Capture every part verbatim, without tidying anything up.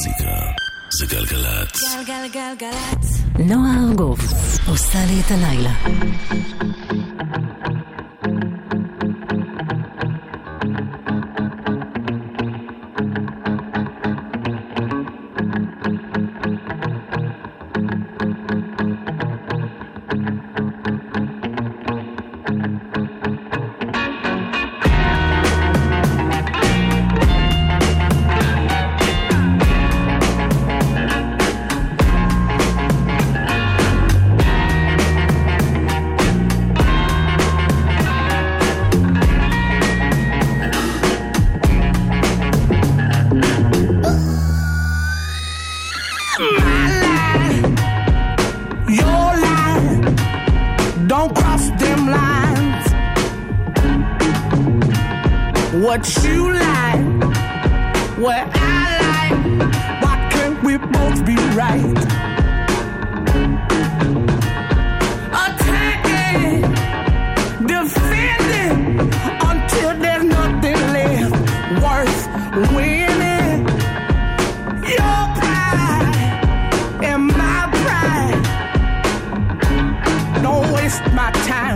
מוזיקה זה גלגלת. גלגלגלגלת. נועה ארגוב עושה לי את הלילה. What you like, what I like, why can't we both be right? Attacking, defending, until there's nothing left worth winning. Your pride and my pride, don't waste my time.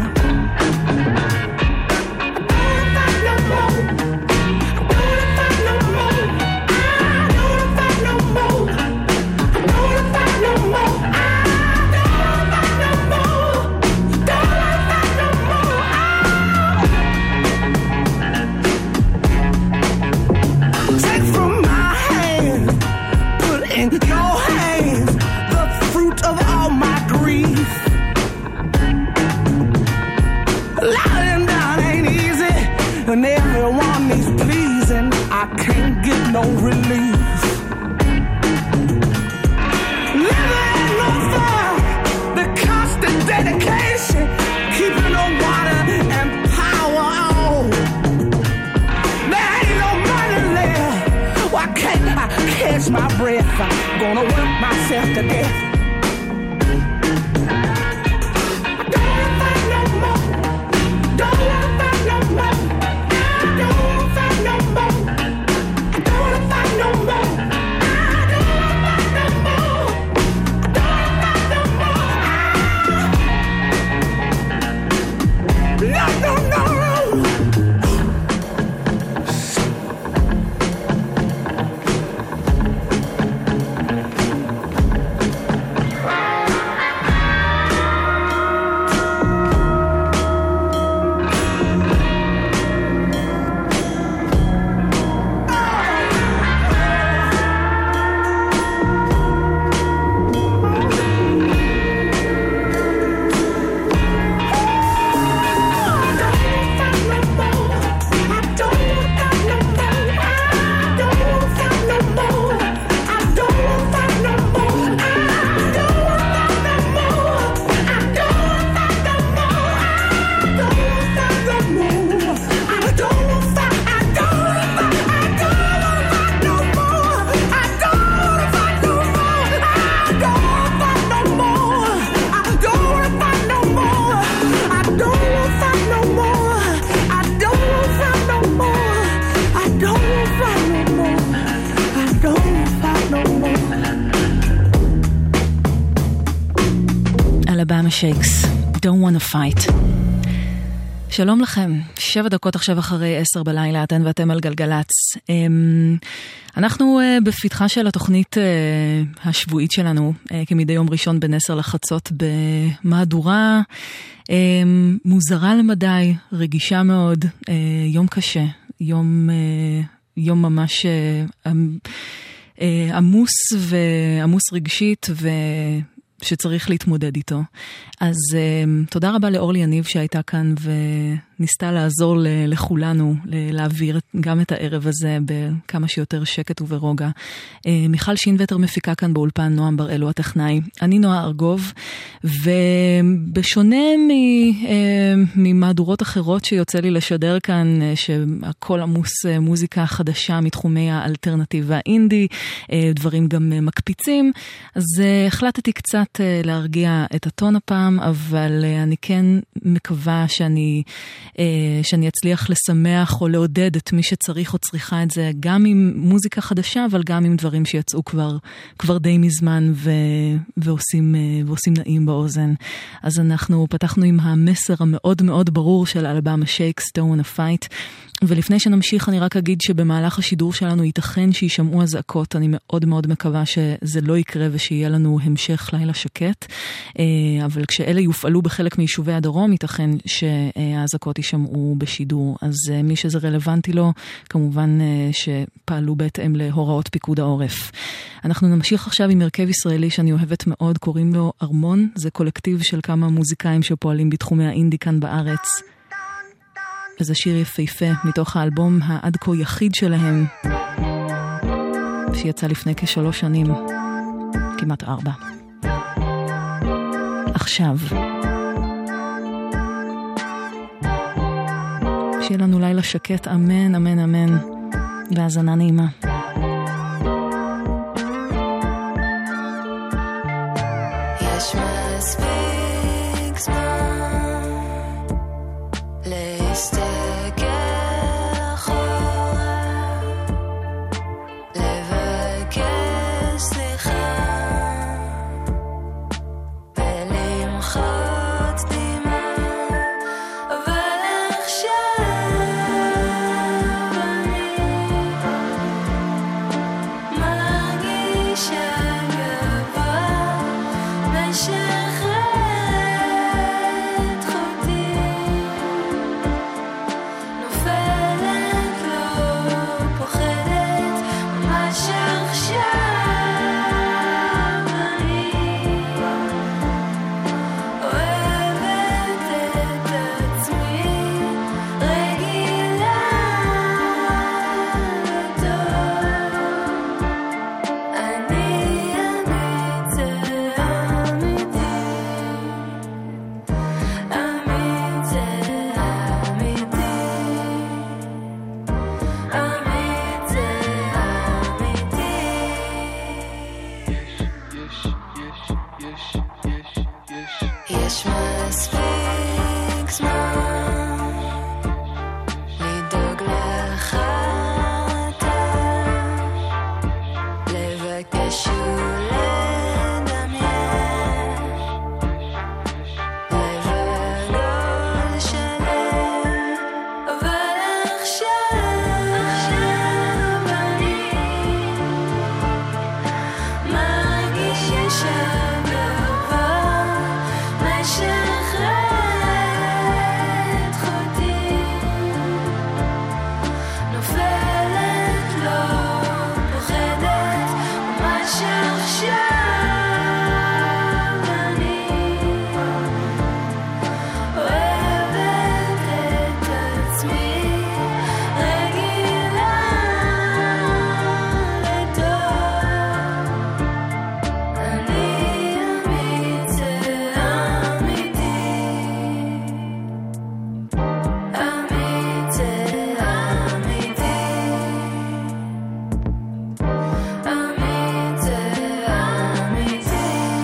And everyone needs pleasing, I can't get no relief. Living in no fun, the constant dedication, keeping the water and power on. There ain't no money left, why can't I catch my breath? I'm gonna work myself to death. אלבמה שייקס, Don't Wanna Fight. שלום לכם, שבע דקות עכשיו אחרי עשר בלילה, אתן ואתם על גלגלץ. אנחנו בפתחה של התוכנית השבועית שלנו, כמדי יום ראשון בין עשר לחצות, במהדורה מוזרה למדי, רגישה מאוד, יום קשה, יום, יום ממש עמוס ועמוס רגשית ו... שצריך להתמודד איתו. אז uh, תודה רבה לאורלי יניב שהייתה כאן וניסתה לעזור ל- לכולנו להעביר גם את הערב הזה בכמה שיותר שקט וברוגע. Uh, מיכל שינווטר מפיקה כאן באולפן, נועם בראלו הטכנאי. אני נועה ארגוב, ובשונה מ- uh, ממהדורות אחרות שיוצא לי לשדר כאן, uh, שהכל עמוס uh, מוזיקה חדשה מתחומי האלטרנטיב והאינדי, uh, דברים גם uh, מקפיצים, אז uh, החלטתי קצת להרגיע את הטון הפעם, אבל אני כן מקווה שאני שאני אצליח לשמח או לעודד את מי שצריך או צריכה את זה, גם עם מוזיקה חדשה, אבל גם עם דברים שיצאו כבר, כבר די מזמן ו, ועושים, ועושים נעים באוזן. אז אנחנו פתחנו עם המסר המאוד מאוד ברור של האלבום Shake Stone a Fight, ולפני שנמשיך אני רק אגיד שבמהלך השידור שלנו ייתכן שישמעו הזעקות, אני מאוד מאוד מקווה שזה לא יקרה ושיהיה לנו המשך לילה שקט, אבל כשאלה יופעלו בחלק מיישובי הדרום, ייתכן שהזעקות יישמעו בשידור, אז מי שזה רלוונטי לו, כמובן שפעלו בהתאם להוראות פיקוד העורף. אנחנו נמשיך עכשיו עם הרכב ישראלי שאני אוהבת מאוד, קוראים לו ארמון, זה קולקטיב של כמה מוזיקאים שפועלים בתחומי האינדי כאן בארץ. וזה שיר יפהפה מתוך האלבום העד כה יחיד שלהם, שיצא לפני כשלוש שנים, כמעט ארבע. עכשיו, שיהיה לנו לילה שקט, אמן, אמן, אמן, והזנה נעימה. יש מספיק זמן להסתכל אחורה, לבקש סליחה ולמחות דמעה, אבל עכשיו אני מרגישה גבוה משחררת חוטי, נופלת לא פוחדת, ממש עכשיו אני אוהבת את עצמי, רגילה לטוב, אני אמיץ זה אמיתי, אמיץ זה אמיתי, אמיץ זה אמיתי. יש מספיק זמן לדאוג לך אתה, לבקש ולדמיין, לבלול שלם, אבל עכשיו אני מרגישה גבוה משחררת חוטי, נופלת לא פוחדת, ממש עכשיו אני אוהבת את עצמי, רגילה לטוב, אני אמיץ זה אמיתי, אמיץ זה אמיתי, אמיץ זה אמיתי.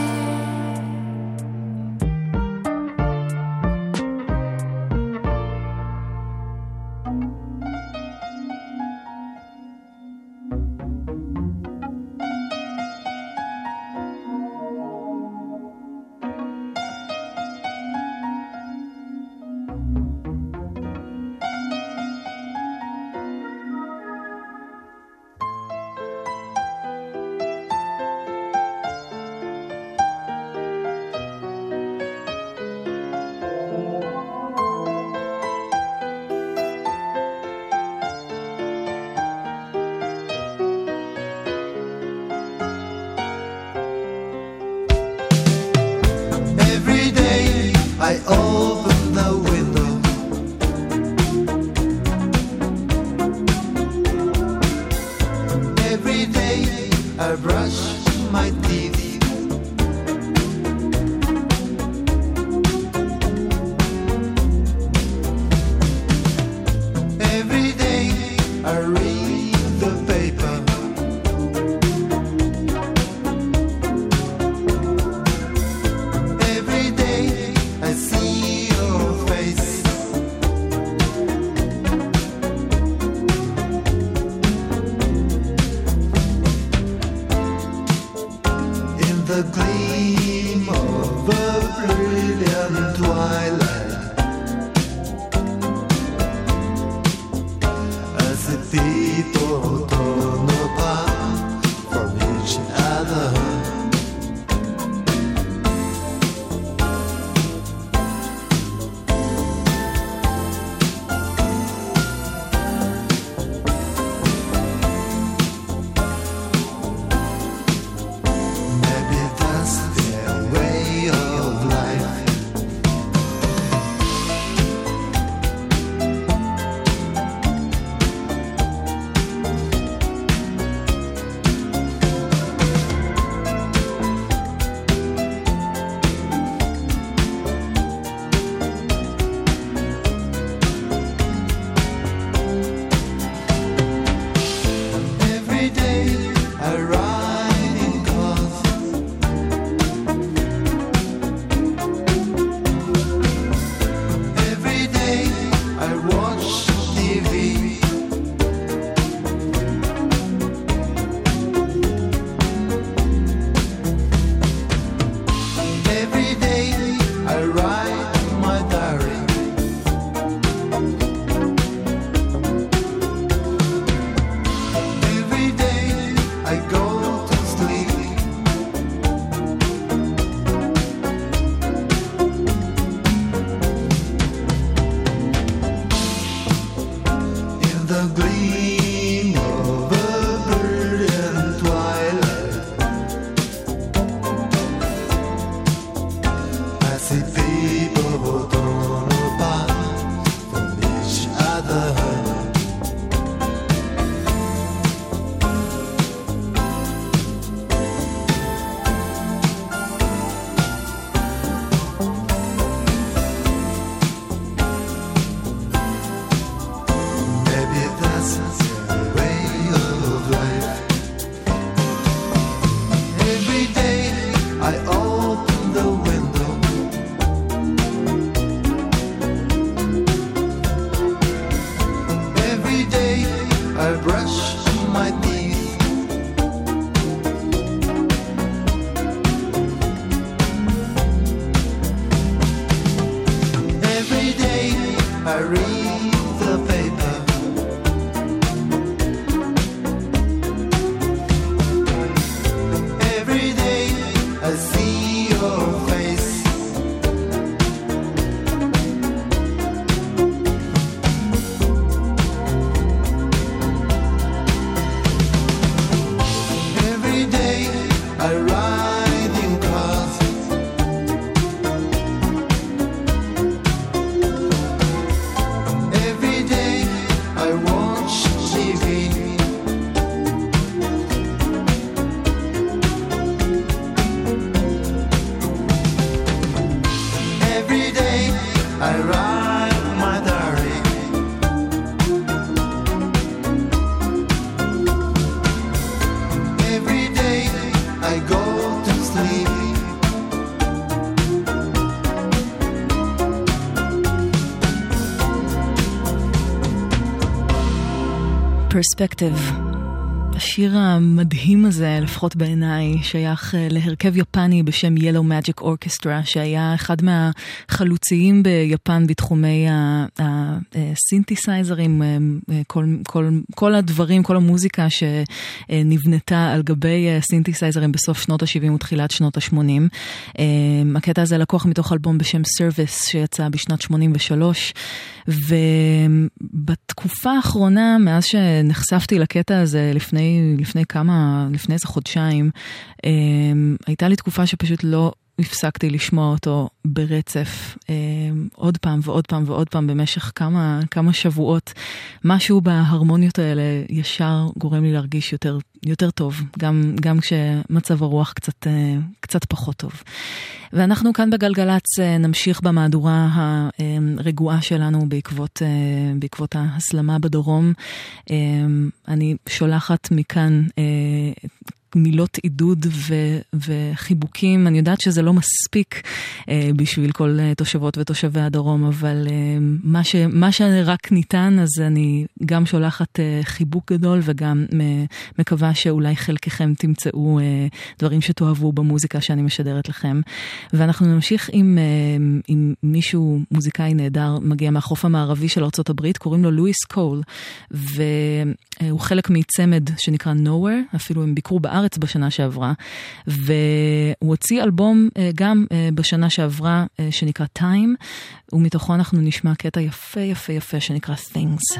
Every day I open the window, every day I brush my teeth, every day I read the paper, every day I see your face, the gleam of a brilliant twilight, as the people torn apart from each other. Perspective. השיר המדהים הזה, לפחות בעיניי, שייך להרכב יפני בשם Yellow Magic Orchestra, שהיה אחד מהחלוציים ביפן בתחומי הסינתסייזרים, כל, כל, כל הדברים, כל המוזיקה שנבנתה על גבי סינתסייזרים בסוף שנות ה-שבעים ותחילת שנות ה-שמונים. הקטע הזה לקוח מתוך אלבום בשם Service, שיצא בשנת שמונים ושלוש, ובתקופה האחרונה, מאז שנחשפתי לקטע הזה לפני, לפני כמה, לפני איזה חודשיים, הייתה לי תקופה שפשוט לא הפסקתי לשמוע אותו ברצף, עוד פעם ועוד פעם ועוד פעם במשך כמה, כמה שבועות. משהו בהרמוניות האלה ישר גורם לי להרגיש יותר, יותר טוב, גם, גם כשמצב הרוח קצת, קצת פחות טוב. ואנחנו כאן בגלגלץ נמשיך במהדורה הרגועה שלנו בעקבות, בעקבות ההסלמה בדרום. אני שולחת מכאן מילות עידוד ו- וחיבוקים. אני יודעת שזה לא מספיק אה, בשביל כל אה, תושבות ותושבי הדרום, אבל אה, מה, ש- מה שרק ניתן, אז אני גם שולחת אה, חיבוק גדול, וגם אה, מקווה שאולי חלקכם תמצאו אה, דברים שתאהבו במוזיקה שאני משדרת לכם. ואנחנו נמשיך עם, אה, עם מישהו מוזיקאי נהדר, מגיע מהחוף המערבי של ארצות הברית, קוראים לו לואיס קול, והוא חלק מצמד שנקרא Nowhere, אפילו הם ביקרו בארץ בשנה שעברה, והוא הוציא אלבום גם בשנה שעברה שנקרא Time, ומתוכו אנחנו נשמע קטע יפה יפה יפה שנקרא Things.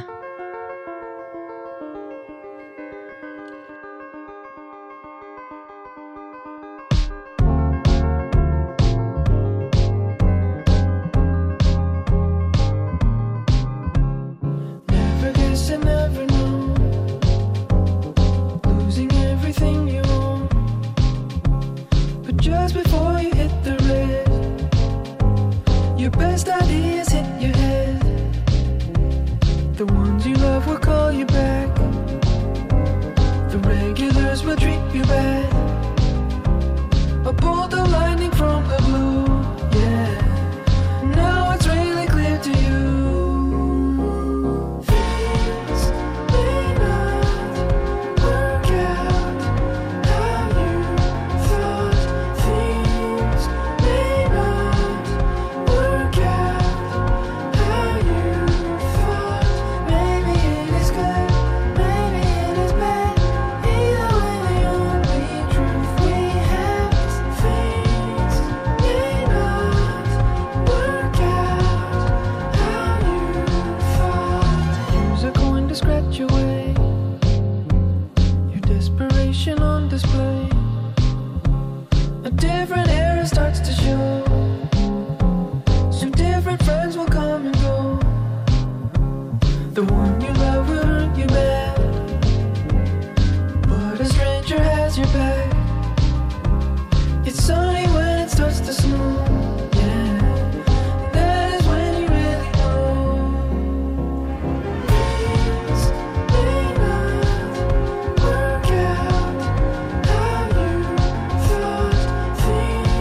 Things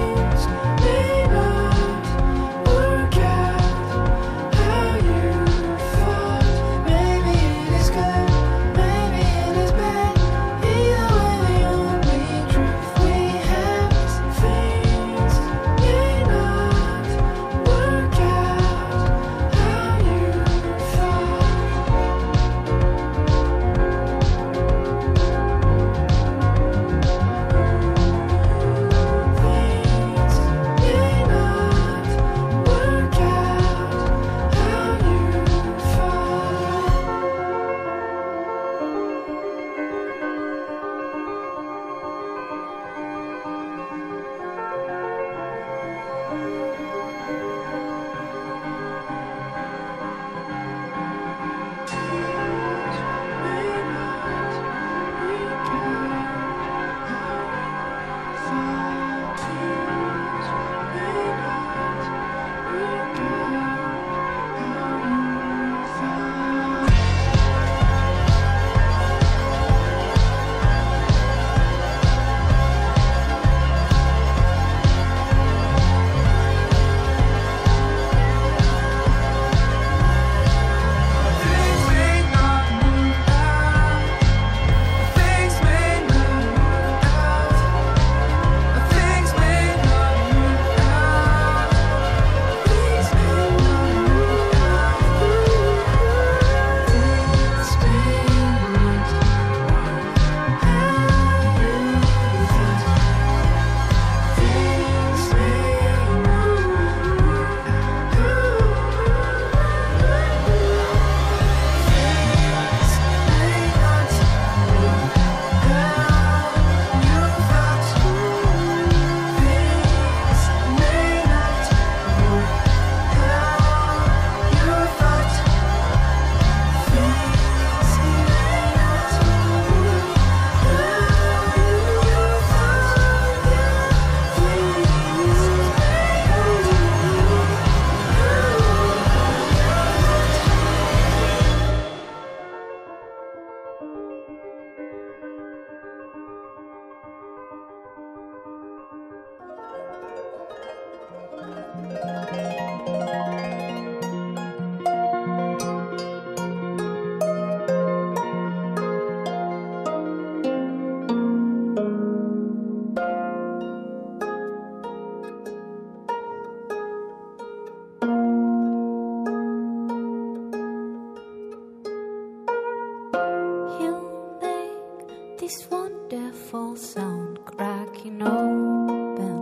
sound cracking open.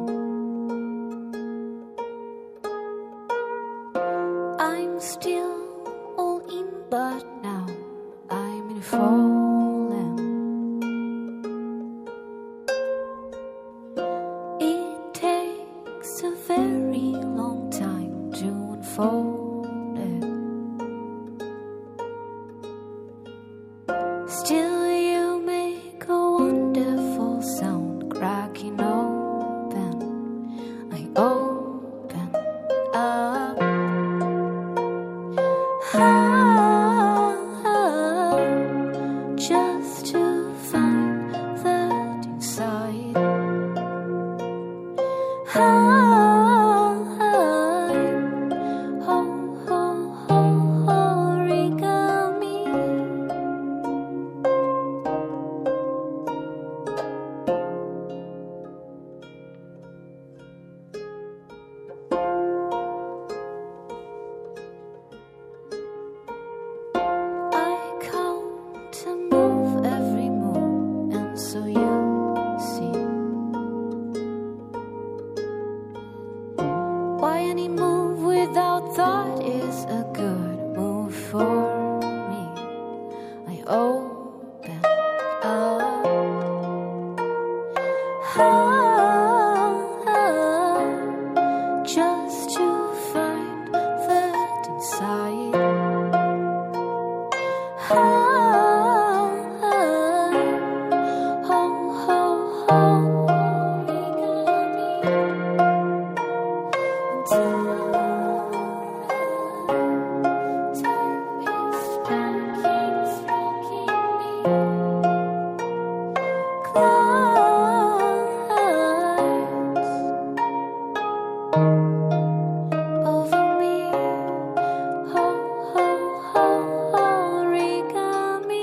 I'm still all in, but now I'm in fallen. It takes a very long time to unfold it. Still you make a wonderful sound cracking open. I open up. Ah, ah, just to find that inside. Ah, oh, oh, oh, origami. I count to move every move, and so you see why any move without thought is a good move for me. I open up. Ah, ah, just to find that inside. Ah, ah, oh, oh, oh, origami. Time is rocking, rocking me. Clouds over me. Oh, oh, oh, origami.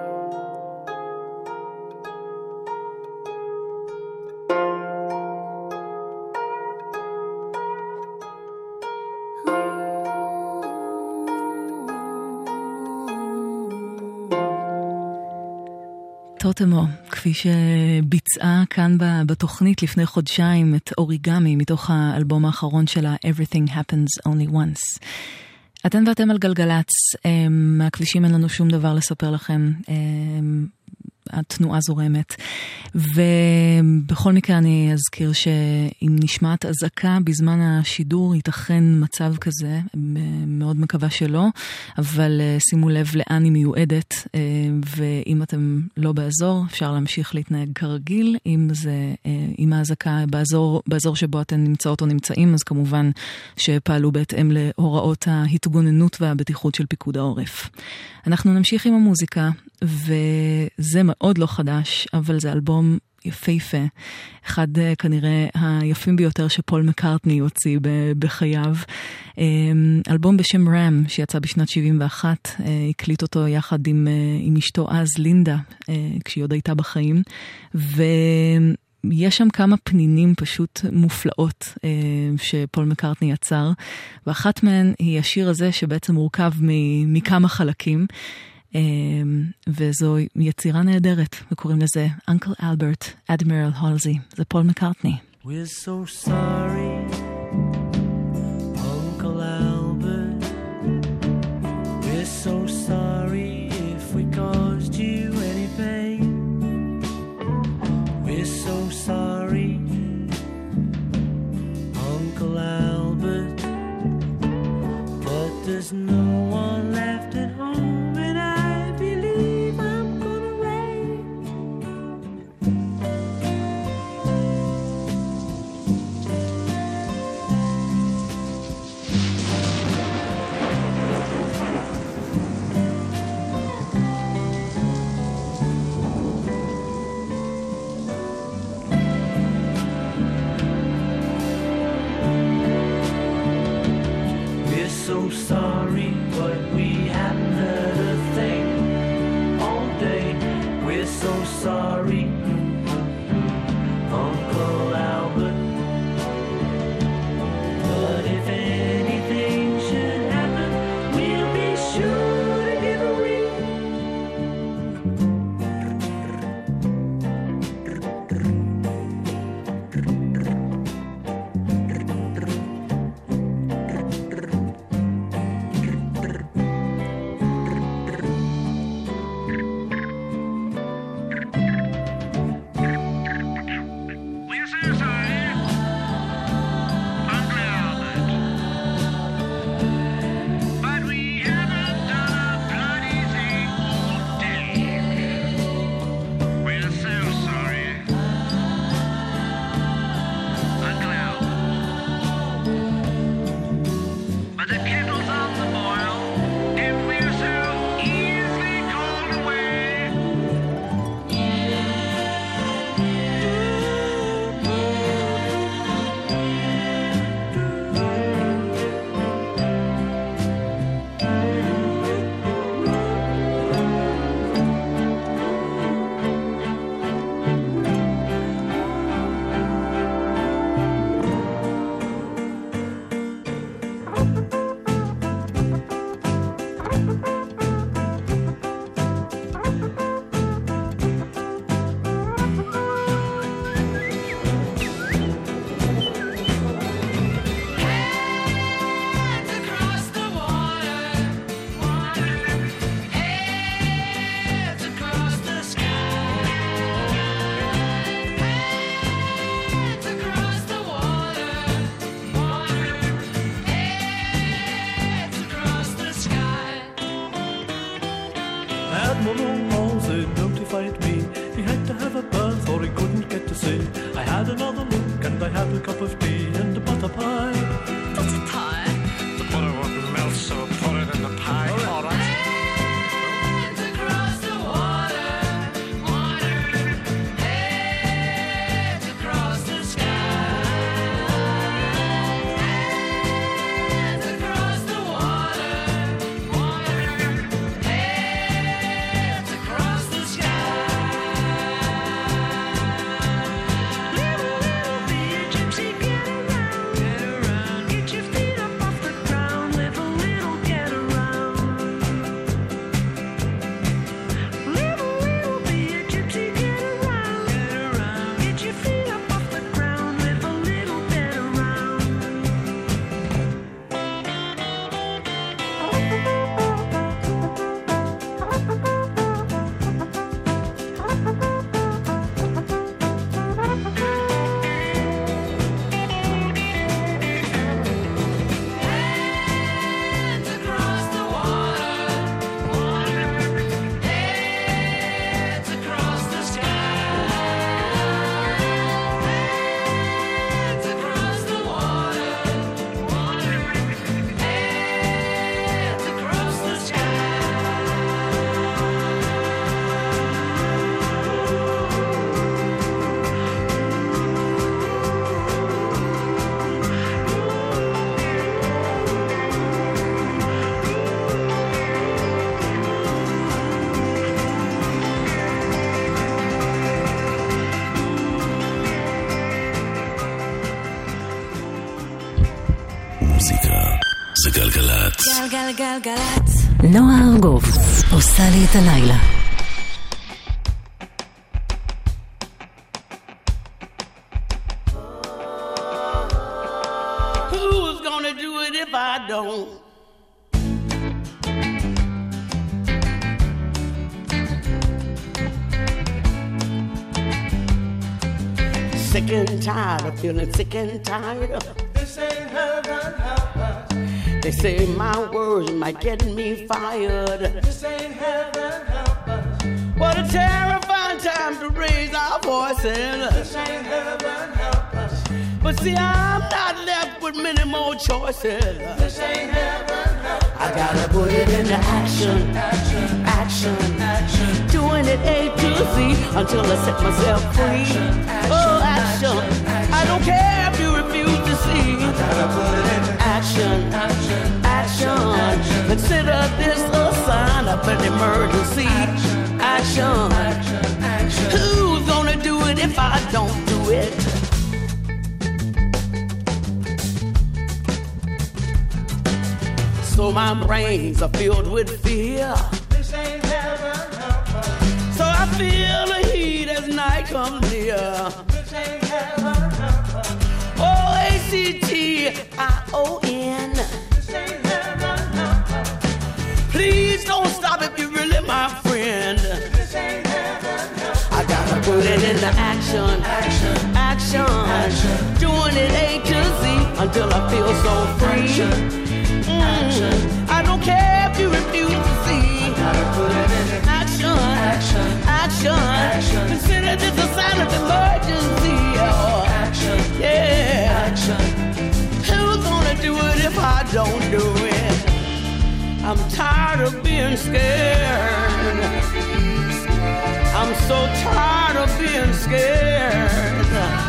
טוטמו, כפי שביצעה כאן ב- בתוכנית לפני חודשיים את אוריגמי מתוך האלבום האחרון שלה Everything Happens Only Once. אתן ואתם על גלגלץ, אמ, מהכבישים אין לנו שום דבר לספר לכם, אמ, התנועה זורמת, ובכל מקרה אני אזכיר שאם נשמעת אזעקה בזמן השידור ייתכן מצב כזה, מאוד מקווה שלא, אבל שימו לב לאן היא מיועדת, ואם אתם לא באזור אפשר להמשיך להתנהג כרגיל. אם זה, אם האזעקה באזור, באזור שבו אתן נמצאות או נמצאים, אז כמובן שפעלו בהתאם להוראות ההתגוננות והבטיחות של פיקוד העורף. אנחנו נמשיך עם המוזיקה, וזה מאוד לא חדש, אבל זה אלבום יפהפה, אחד כנראה היפים ביותר שפול מקארטני הוציא בחייו. אלבום בשם רם שיצא בשנת שבעים ואחת, הקליט אותו יחד עם, עם אשתו אז לינדה, כשהיא עוד הייתה בחיים, ויש שם כמה פנינים פשוט מופלאות שפול מקארטני יצר, ואחת מהן היא השיר הזה שבעצם מורכב מכמה חלקים, וזו יצירה נהדרת, וקוראים לזה Uncle Albert, Admiral Halsey. זה פול מקארטני. We're so sorry, Uncle Albert. We're so sorry if we caused you any pain. We're so sorry, Uncle Albert. But there's no one left at home, and I believe I'm gonna rain. We're so sorry, I had another look and I had a cup of tea and a butter pie. That's a pie. The butter wouldn't melt, so put it in the pie. All right. Hands across the water, water. Hands across the sky. Hands across the water, water. Hands across the sky. Little, little bee, gypsy, get around, get around. Get your feet up off the ground, live a little, get around. Little, little bee, gypsy, get around, get around. Get your feet up off the ground, live a little, get around. Hands across the water, water. Hands across the sky. Hands across the water, water. Hands across the sky. מוזיקה זה גלגלצ. גלגלגלגלצ. נועה ארגוב עושה לי את הלילה. Who's gonna do it if I don't? Sick and tired of feeling sick and tired of. This ain't heaven, help us. They say my words might get me fired. This ain't heaven, help us. What a terrifying time to raise our voices. This ain't heaven, help us. But see, I'm not left with many more choices. This ain't heaven, help us. I gotta put it into action, Action, action, action. doing it A to Z until I set myself free. Action, Oh, action. action, I don't care if you refuse to see. Gotta put it into Action, action, action. action. Consider this a sign of an emergency. Action. action, action. Who's gonna do it if I don't do it? So my brains are filled with fear. This ain't heaven, help us. So I feel the heat as night comes near. This ain't heaven, help us. Oh, A C T I O N. This ain't heaven, help us. Please don't stop if you're really my friend. This ain't heaven, help us. I gotta put it into action, Action, action, action. doing it A to Z until I feel so free. Action, Mm. action. I don't care if you refuse to see. Gotta put it into Action, action, action, action. Consider this a sign of emergency. Oh, action, yeah. action. Who's gonna do it if I don't do it? I'm tired of being scared. I'm so tired of being scared.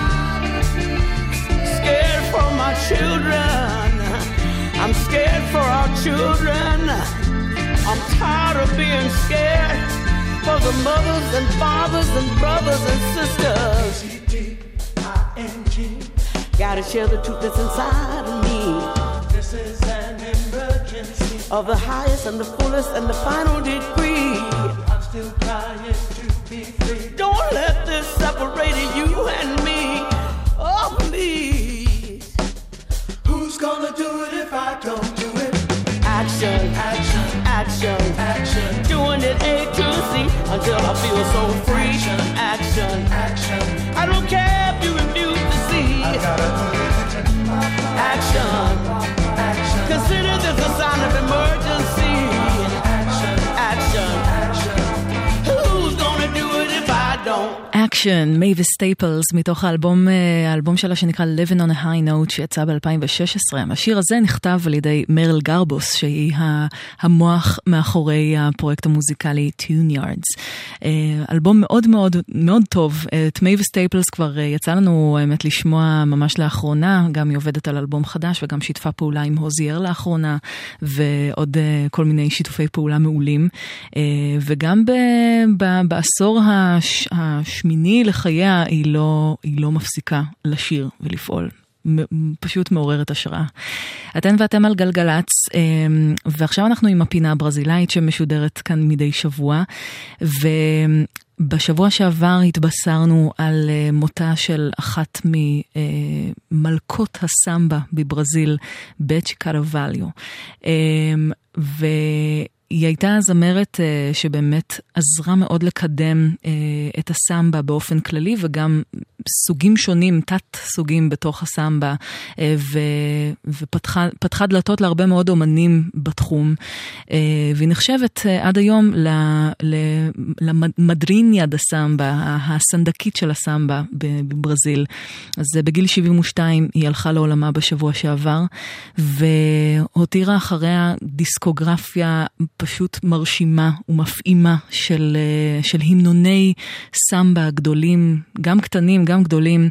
Scared for my children. I'm scared for our children. I'm tired of being scared for the mothers and fathers and brothers and sisters. C T I N G. Gotta share the truth that's inside of me. This is an emergency. Of the highest and the fullest and the final degree. I'm still trying to be free. Don't let this separate you and me. Oh, please. Who's gonna do it if I don't do it? Action, Action, action, action. doing it A to Z until I feel so free. Action, Action, I don't care if you refuse to see. gotta put it into Action, action. consider this a sign of emergency. Action, Action, action. who's gonna do it if I don't? Nation, מייביס סטייפלס, מתוך האלבום, האלבום שלה שנקרא Living on a High Note, שיצא ב-אלפיים ושש עשרה. השיר הזה נכתב על ידי מריל גרבוס, שהיא המוח מאחורי הפרויקט המוזיקלי Tune Yards. אלבום מאוד מאוד מאוד טוב. את מייביס סטייפלס כבר יצא לנו האמת לשמוע ממש לאחרונה, גם היא עובדת על אלבום חדש וגם שיתפה פעולה עם הוזייר לאחרונה, ועוד כל מיני שיתופי פעולה מעולים. וגם ב, ב, בעשור הש, השמיני לחייה היא לא, היא לא מפסיקה לשיר ולפעול. פשוט מעוררת השראה. אתן ואתם על גלגלץ, ועכשיו אנחנו עם הפינה הברזילאית שמשודרת כאן מדי שבוע, ובשבוע שעבר התבשרנו על מותה של אחת ממלכות הסמבה בברזיל, בצ'י קרווליו. ו... היא הייתה זמרת uh, שבאמת עזרה מאוד לקדם uh, את הסמבה באופן כללי, וגם סוגים שונים, תת סוגים בתוך הסמבה, uh, ו, ופתחה פתחה דלתות להרבה מאוד אומנים בתחום, uh, והיא נחשבת uh, עד היום ל, ל, למדריניה דה סמבה, הסנדקית של הסמבה בברזיל. אז uh, בגיל שבעים ושתיים היא הלכה לעולמה בשבוע שעבר, והותירה אחריה דיסקוגרפיה פשוט מרשימה ומפעימה של, של המנוני סמבה גדולים, גם קטנים, גם גדולים,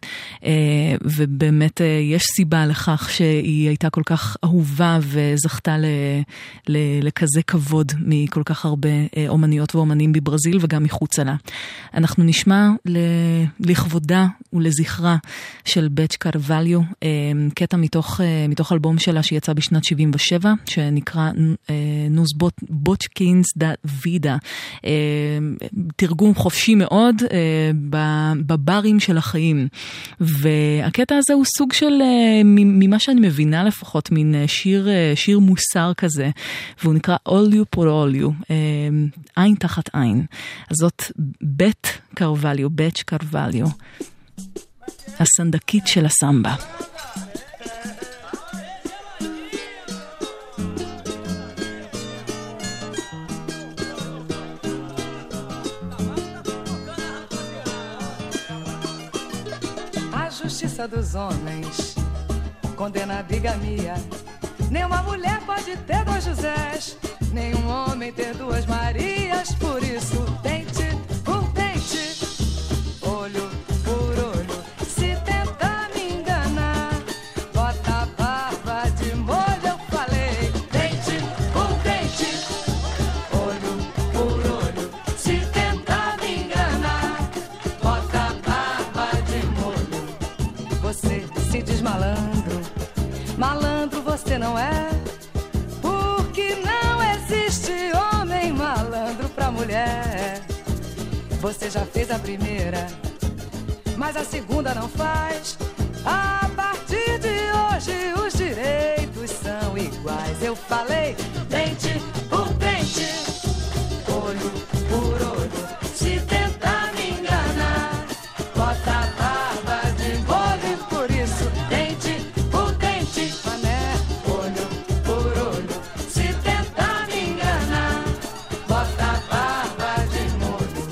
ובאמת יש סיבה לכך שהיא הייתה כל כך אהובה וזכתה ל, ל, לכזה כבוד מכל כך הרבה אומניות ואומנים בברזיל וגם מחוץ לה. אנחנו נשמע לכבודה ולזכרה של בצ'י קרווליו, קטע מתוך, מתוך אלבום שלה שיצא בשנת שבעים ושבע, שנקרא נוס בוט בוצ'קינס דה וידה, תרגום חופשי מאוד, בברים של החיים. והקטע הזה הוא סוג של, ממה שאני מבינה לפחות, מין שיר, שיר מוסר כזה, והוא נקרא All You for All You, עין תחת עין. אז זאת בית קרווליו, בצ'י קרווליו, הסנדקית של הסמבה. Justiça dos homens condena a bigamia. Nenhuma mulher pode ter dois Josés, nenhum homem ter duas Marias. Por isso, dente por dente, olho por olho. Se tentar me enganar, bota a barba de molho. Eu falei, dente por dente, olho por olho. Se tentar me enganar, bota a barba de molho. Você se diz malandro, malandro você não é, porque não existe homem malandro pra mulher. Você já fez a primeira, mas a segunda não faz. A partir de hoje os direitos são iguais. Eu falei, dente por dente, olho por olho. Se tentar me enganar, bota a barba de molho. Por isso, dente por dente, mané, olho por olho. Se tentar me enganar, bota a barba de molho.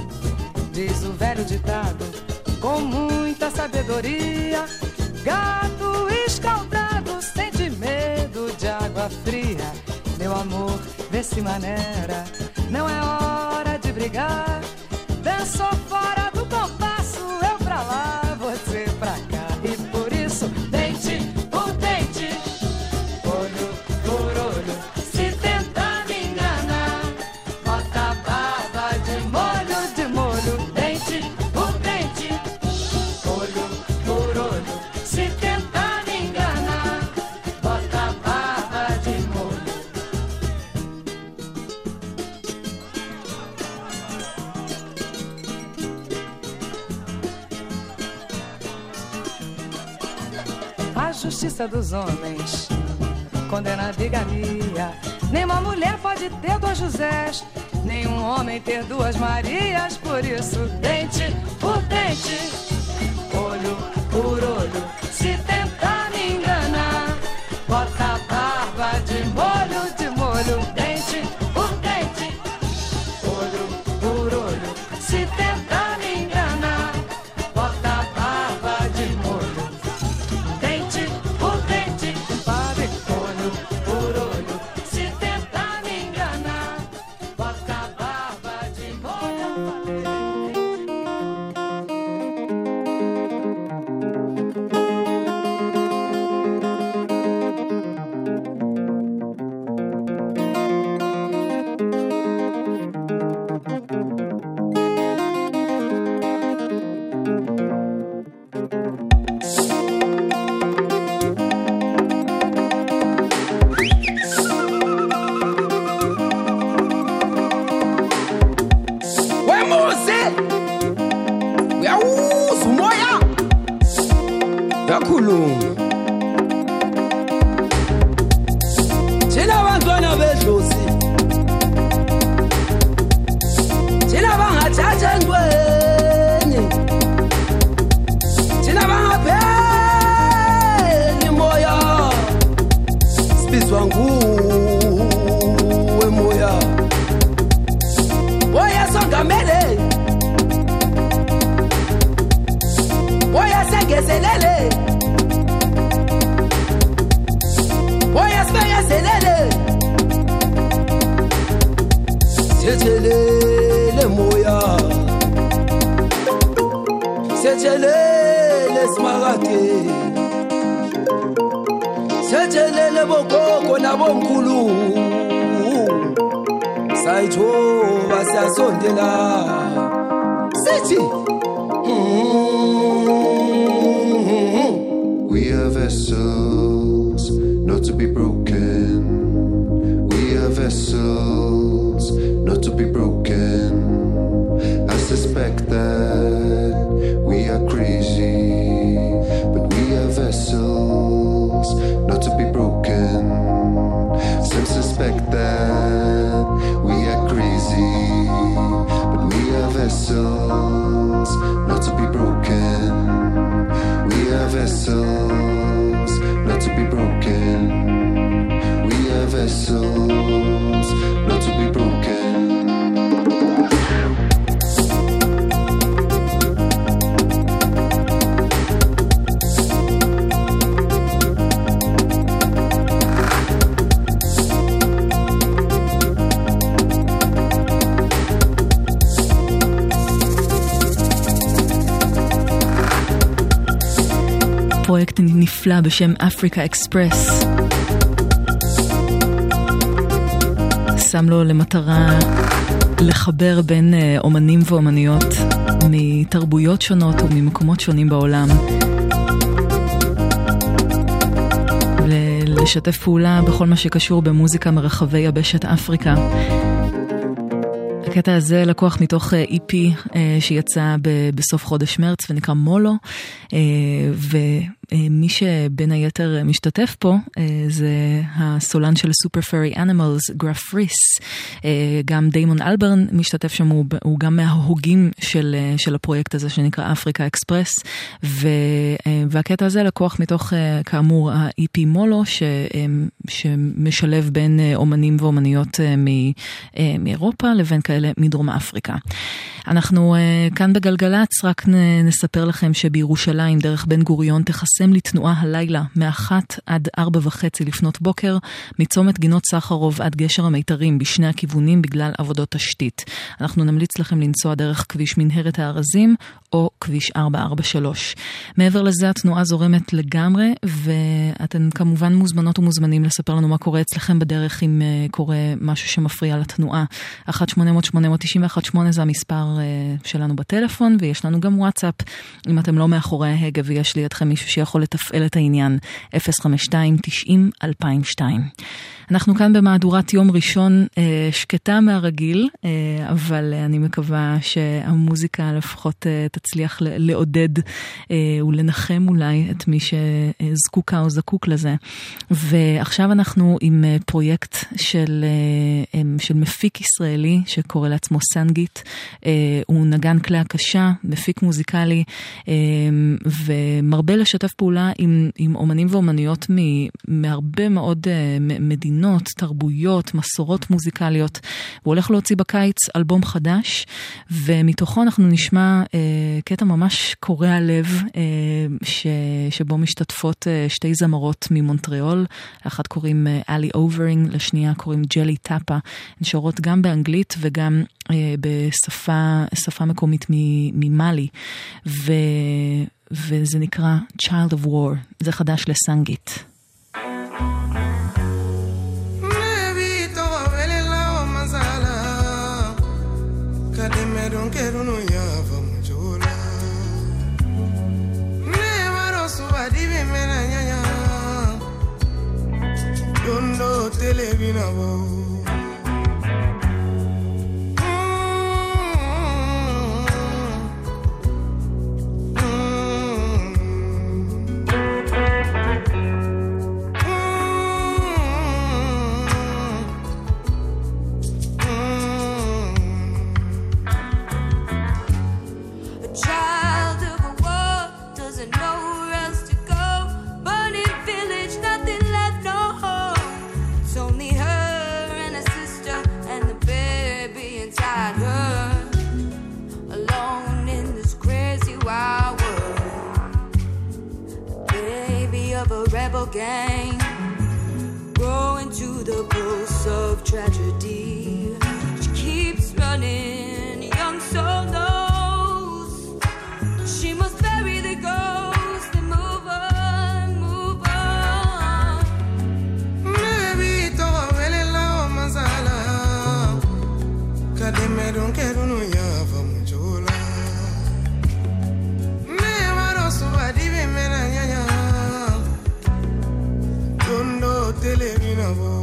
Diz o velho ditado, com muita sabedoria, gato escaldado sente medo de água fria. Meu amor, vê se maneira, não é hora de brigar. Dançou fora do compasso, eu pra lá, você pra cá. E por isso, dente por dente, olho por olho. Se tentar me enganar, bota a barba de molho, de molho. Dente por dente, olho por olho. Se tentar me enganar, bota a barba de molho. A justiça dos homens condena a bigamia. Nenhuma mulher pode ter dois Josés, nenhum homem ter duas Marias. Por isso, dente por dente, olho por olho. Se tentar me enganar, bota a barba de molho, de molho. Dente por dente, olho por olho. Se tentar me enganar, Wemuse uyawuza umoya yakhuluma thina abantwana bedlozi thina bangathatha entweni thina bangapheli moya sibizwa nguwe moya Oya songamele Oya sengezelele Oya sbegezelele Sejelele moya Sejelele smarate Sejelele bokoko nabomkhulu Sayithoba siyasondela sithi We are vessels not to be broken. We are vessels not to be broken. I suspect that we are crazy, but we are vessels not to be broken. Some suspect that we are crazy, but we are vessels not to be broken. We are vessels not to be broken. We are vessels not to be broken. פרויקט נפלא בשם אפריקה אקספרס. שם לו למטרה לחבר בין אומנים ואומניות מתרבויות שונות וממקומות שונים בעולם. ולשתף פעולה בכל מה שקשור במוזיקה מרחבי יבשת אפריקה. הקטע הזה לקוח מתוך אי פי שיצא בסוף חודש מרץ ונקרא מולו, ומי שבין היתר משתתף פה זה הסולן של סופר פרי אנימלס, גרף ריס. גם דיימון אלברן משתתף שם, הוא גם מההוגים של, של הפרויקט הזה שנקרא אפריקה אקספרס, והקטע הזה לקוח מתוך כאמור האי פי מולו ש, שמשלב בין אומנים ואומניות מאירופה לבין כאלה מדרום אפריקה. אנחנו uh, כאן בגלגלץ רק נספר לכם שבירושלים דרך בן גוריון תחסם לתנועה הלילה מאחת עד ארבע וחצי לפנות בוקר, מצומת גינות סחרוב עד גשר המיתרים בשני הכיוונים בגלל עבודות תשתית. אנחנו נמליץ לכם לנסוע דרך כביש מנהרת הארזים או כביש ארבע ארבע שלוש. מעבר לזה התנועה זורמת לגמרי, ואתם כמובן מוזמנות ומוזמנים לספר לנו מה קורה אצלכם בדרך אם uh, קורה משהו שמפריע לתנועה. אחת שמונה אפס אפס שמונה תשע אחת שמונה זה המספר שלנו בטלפון, ויש לנו גם וואטסאפ אם אתם לא מאחורי ההגה ויש לידכם מישהו שיכול לתפעל את העניין, אפס חמש שתיים תשעים אלפיים ושתיים. אנחנו כאן במהדורת יום ראשון שקטה מהרגיל, אבל אני מקווה שהמוזיקה לפחות תצליח לעודד ולנחם אולי את מי שזקוקה או זקוק לזה. ועכשיו אנחנו עם פרויקט של, של מפיק ישראלי שקורא לעצמו סנגיט. הוא נגן כלי הקשה, מפיק מוזיקלי, ומרבה לשתף פעולה עם, עם אומנים ואומניות מהרבה מאוד מדינות, תרבויות, מסורות מוזיקליות. הוא הולך להוציא בקיץ אלבום חדש, ומתוכו אנחנו נשמע אה, קטע ממש קורע לב, אה, ש, שבו משתתפות אה, שתי זמרות ממונטריאול, לאחת קוראים אה, אלי אוברינג, לשנייה קוראים ג'לי טאפה, הן שורות גם באנגלית וגם אה, בשפה שפה מקומית ממאלי, ו, וזה נקרא Child of War, זה חדש לסנגיט. Don't get on your televinavo. Gang, growing to the pulse of tragedy. She keeps running, young soul knows she must bury the ghost and move on, move on. Maybe to vele la masala, kadime don't care no ya famujola. Me varo so adive mena nyanya. Tondo televinavo.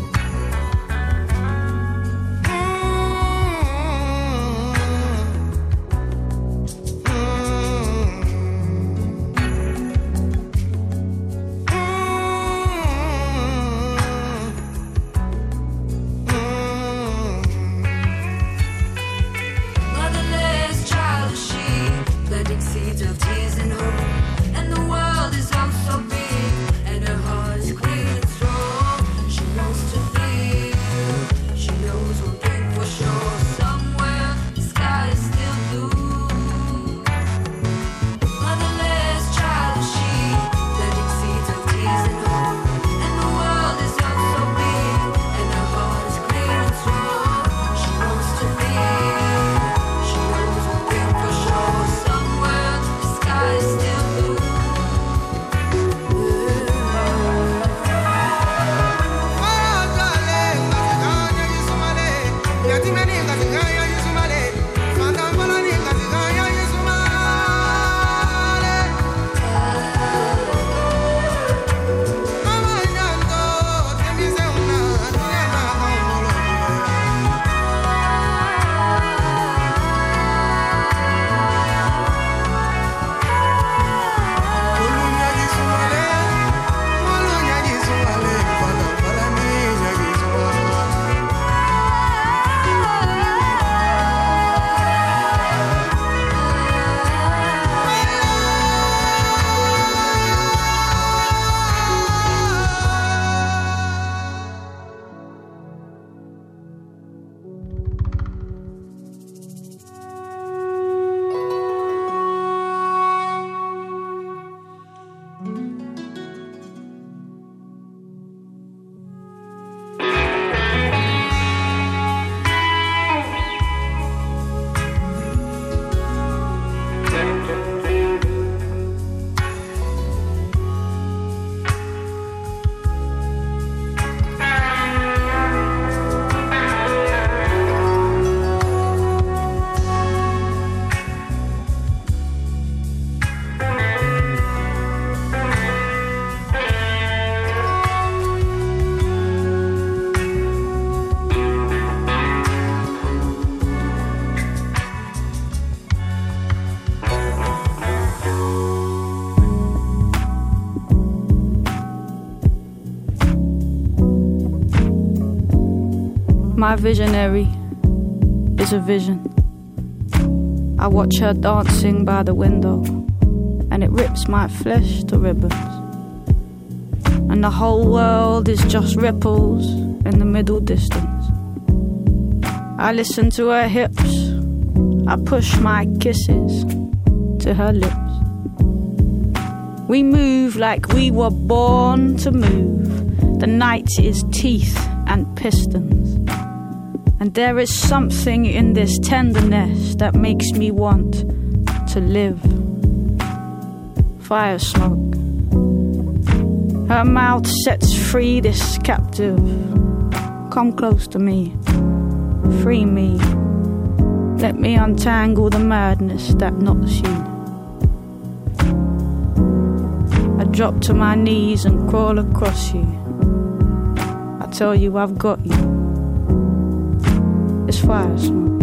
Motherless child is she, planting seeds of tears and hope. And the world is oh so big, and her heart is clean and strong. She wants to live. She knows one thing for sure. Somewhere the sky is still blue. Motherless child is she, planting seeds of tears and hope. And the world is oh so big, and her heart is clean and strong. She wants to live. She knows one thing for sure. Somewhere the sky is still blue. My visionary is a vision. I watch her dancing by the window, and it rips my flesh to ribbons. And the whole world is just ripples in the middle distance. I listen to her hips, I push my kisses to her lips. We move like we were born to move. The night is teeth and pistons. And there is something in this tenderness that makes me want to live. Fire smoke. Her mouth sets free this captive. Come close to me. Free me. Let me untangle the madness that knots you. I drop to my knees and crawl across you. I tell you I've got you. It's fire smoke.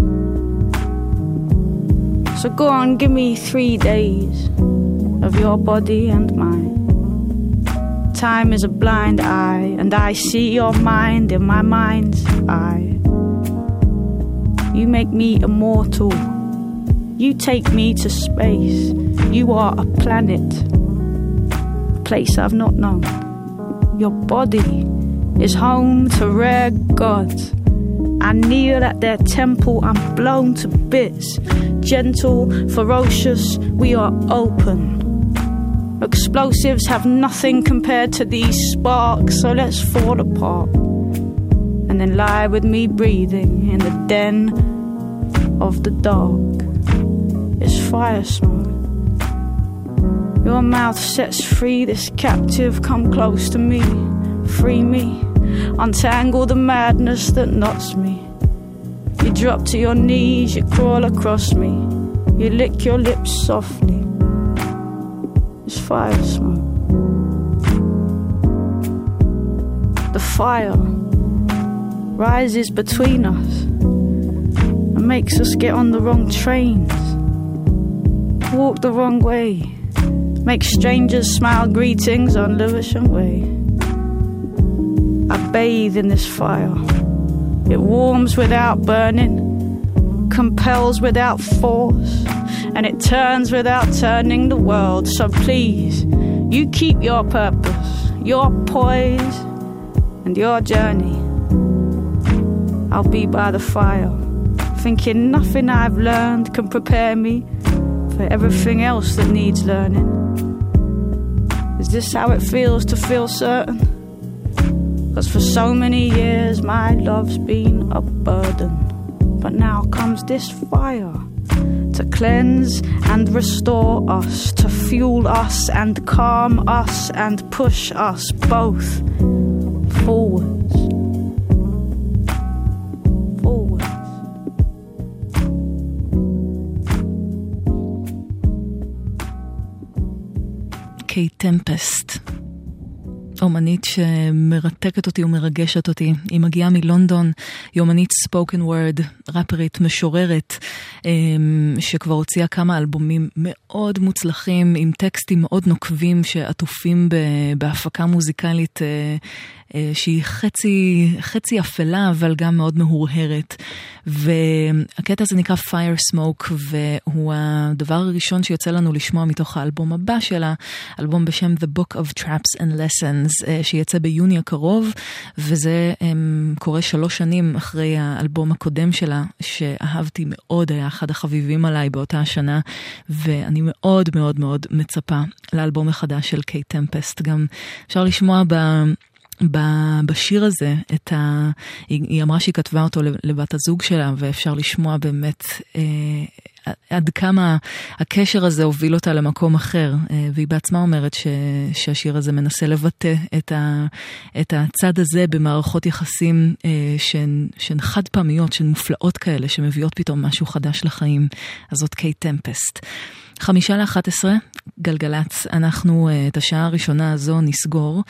So go on, give me three days of your body and mine. Time is a blind eye, and I see your mind in my mind's eye. You make me immortal. You take me to space. You are a planet, a place I've not known. Your body is home to rare gods. I kneel at their temple, I'm blown to bits. Gentle, ferocious, we are open. Explosives have nothing compared to these sparks, so let's fall apart. And then lie with me breathing in the den of the dark. It's fire smoke. Your mouth sets free this captive, come close to me, free me. Untangle the madness that knots me. You drop to your knees, you crawl across me. You lick your lips softly. It's fire smoke. The fire rises between us and makes us get on the wrong trains, walk the wrong way, make strangers smile greetings on Lewisham Way. I bathe in this fire. It warms without burning, compels without force, and it turns without turning the world. So please, you keep your purpose, your poise, and your journey. I'll be by the fire, thinking nothing I've learned can prepare me for everything else that needs learning. Is this how it feels to feel certain? 'Cause for so many years my love's been a burden, but now comes this fire to cleanse and restore us, to fuel us and calm us and push us both forwards. Forwards. Kate Tempest, אומנית שמרתקת אותי ומרגשת אותי. היא מגיעה מלונדון, היא אומנית ספוקן וורד, רפרית, משוררת, שכבר הוציאה כמה אלבומים מאוד מוצלחים, עם טקסטים מאוד נוקבים שעטופים בהפקה מוזיקלית שהיא חצי, חצי אפלה, אבל גם מאוד מהורהרת. והקטע הזה נקרא Fire Smoke, והוא הדבר הראשון שיוצא לנו לשמוע מתוך האלבום הבא שלה, אלבום בשם The Book of Traps and Lessons, שיצא ביוני הקרוב, וזה קורה שלוש שנים אחרי האלבום הקודם שלה, שאהבתי מאוד, היה אחד החביבים עליי באותה השנה, ואני מאוד מאוד מאוד מצפה לאלבום החדש של קייט טמפסט. גם אפשר לשמוע ב... בשיר הזה, את ה... היא, היא אמרה שהיא כתבה אותו לבת הזוג שלה, ואפשר לשמוע באמת אה, עד כמה הקשר הזה הוביל אותה למקום אחר, אה, והיא בעצמה אומרת ש, שהשיר הזה מנסה לבטא את, ה, את הצד הזה במערכות יחסים אה, שהן, שהן חד פעמיות, שהן מופלאות כאלה, שמביאות פתאום משהו חדש לחיים. אז זאת קייט טמפסט. חמישה לאחת עשרה, גלגלץ, אנחנו את השעה הראשונה הזו נסגור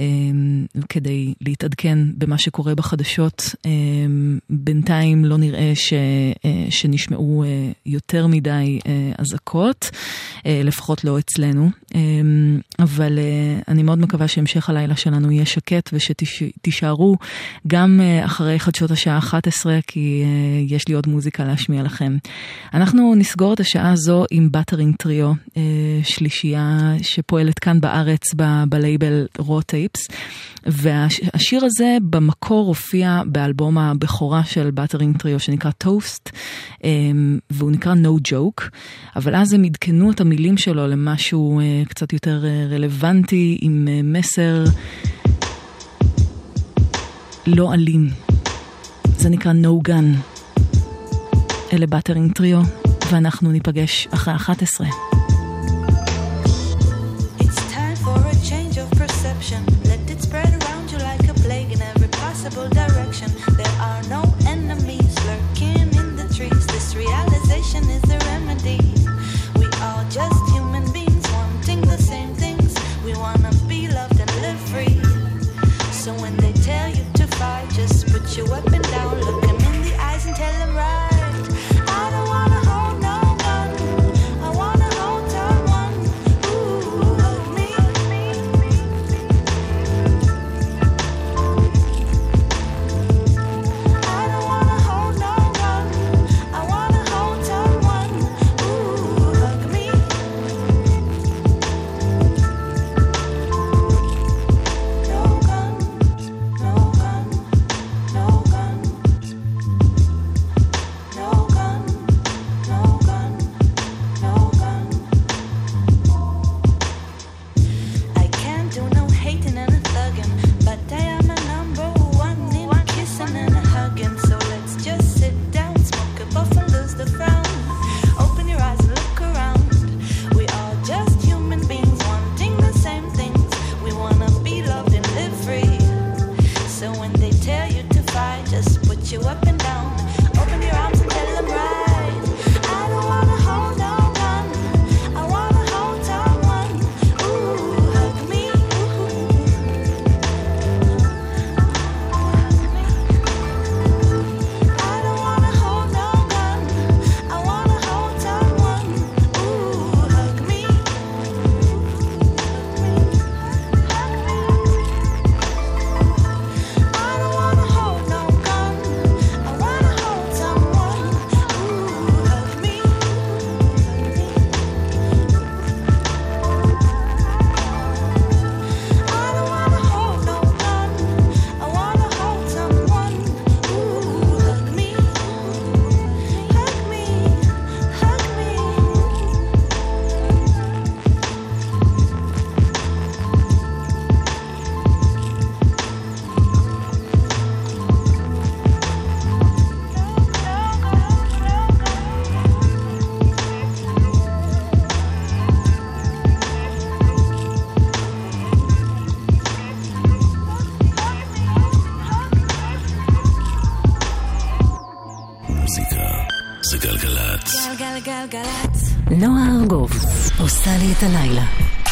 כדי להתעדכן במה שקורה בחדשות. בינתיים לא נראה ש, שנשמעו יותר מדי אזעקות, לפחות לא אצלנו, אבל אני מאוד מקווה שהמשך הלילה שלנו יהיה שקט ושתישארו גם אחרי חדשות השעה אחת עשרה, כי יש לי עוד מוזיקה להשמיע לכם. אנחנו נסגור את השעה הזו עם בטרינג טריו, שלישייה שפועלת כאן בארץ בלייבל רו טייפס, והשיר הזה במקור הופיע באלבום הבכורה של בטרינג טריו שנקרא טוסט, והוא נקרא No Joke, אבל אז הם עדכנו את המילים שלו למשהו קצת יותר רלוונטי, עם מסר לא אלים. זה נקרא No Gun. אלה בטרינג טריו, ואנחנו ניפגש אחרי אחת עשרה. It's time for a change of perception. Let it spread around you like a plague in every possible direction. There are no enemies lurking in the trees. This realization is the remedy. We are just human beings wanting the same things. We wanna be loved and live free. So when they tell you to על גלגלצ. נועה ארגוב עושה לי את הלילה.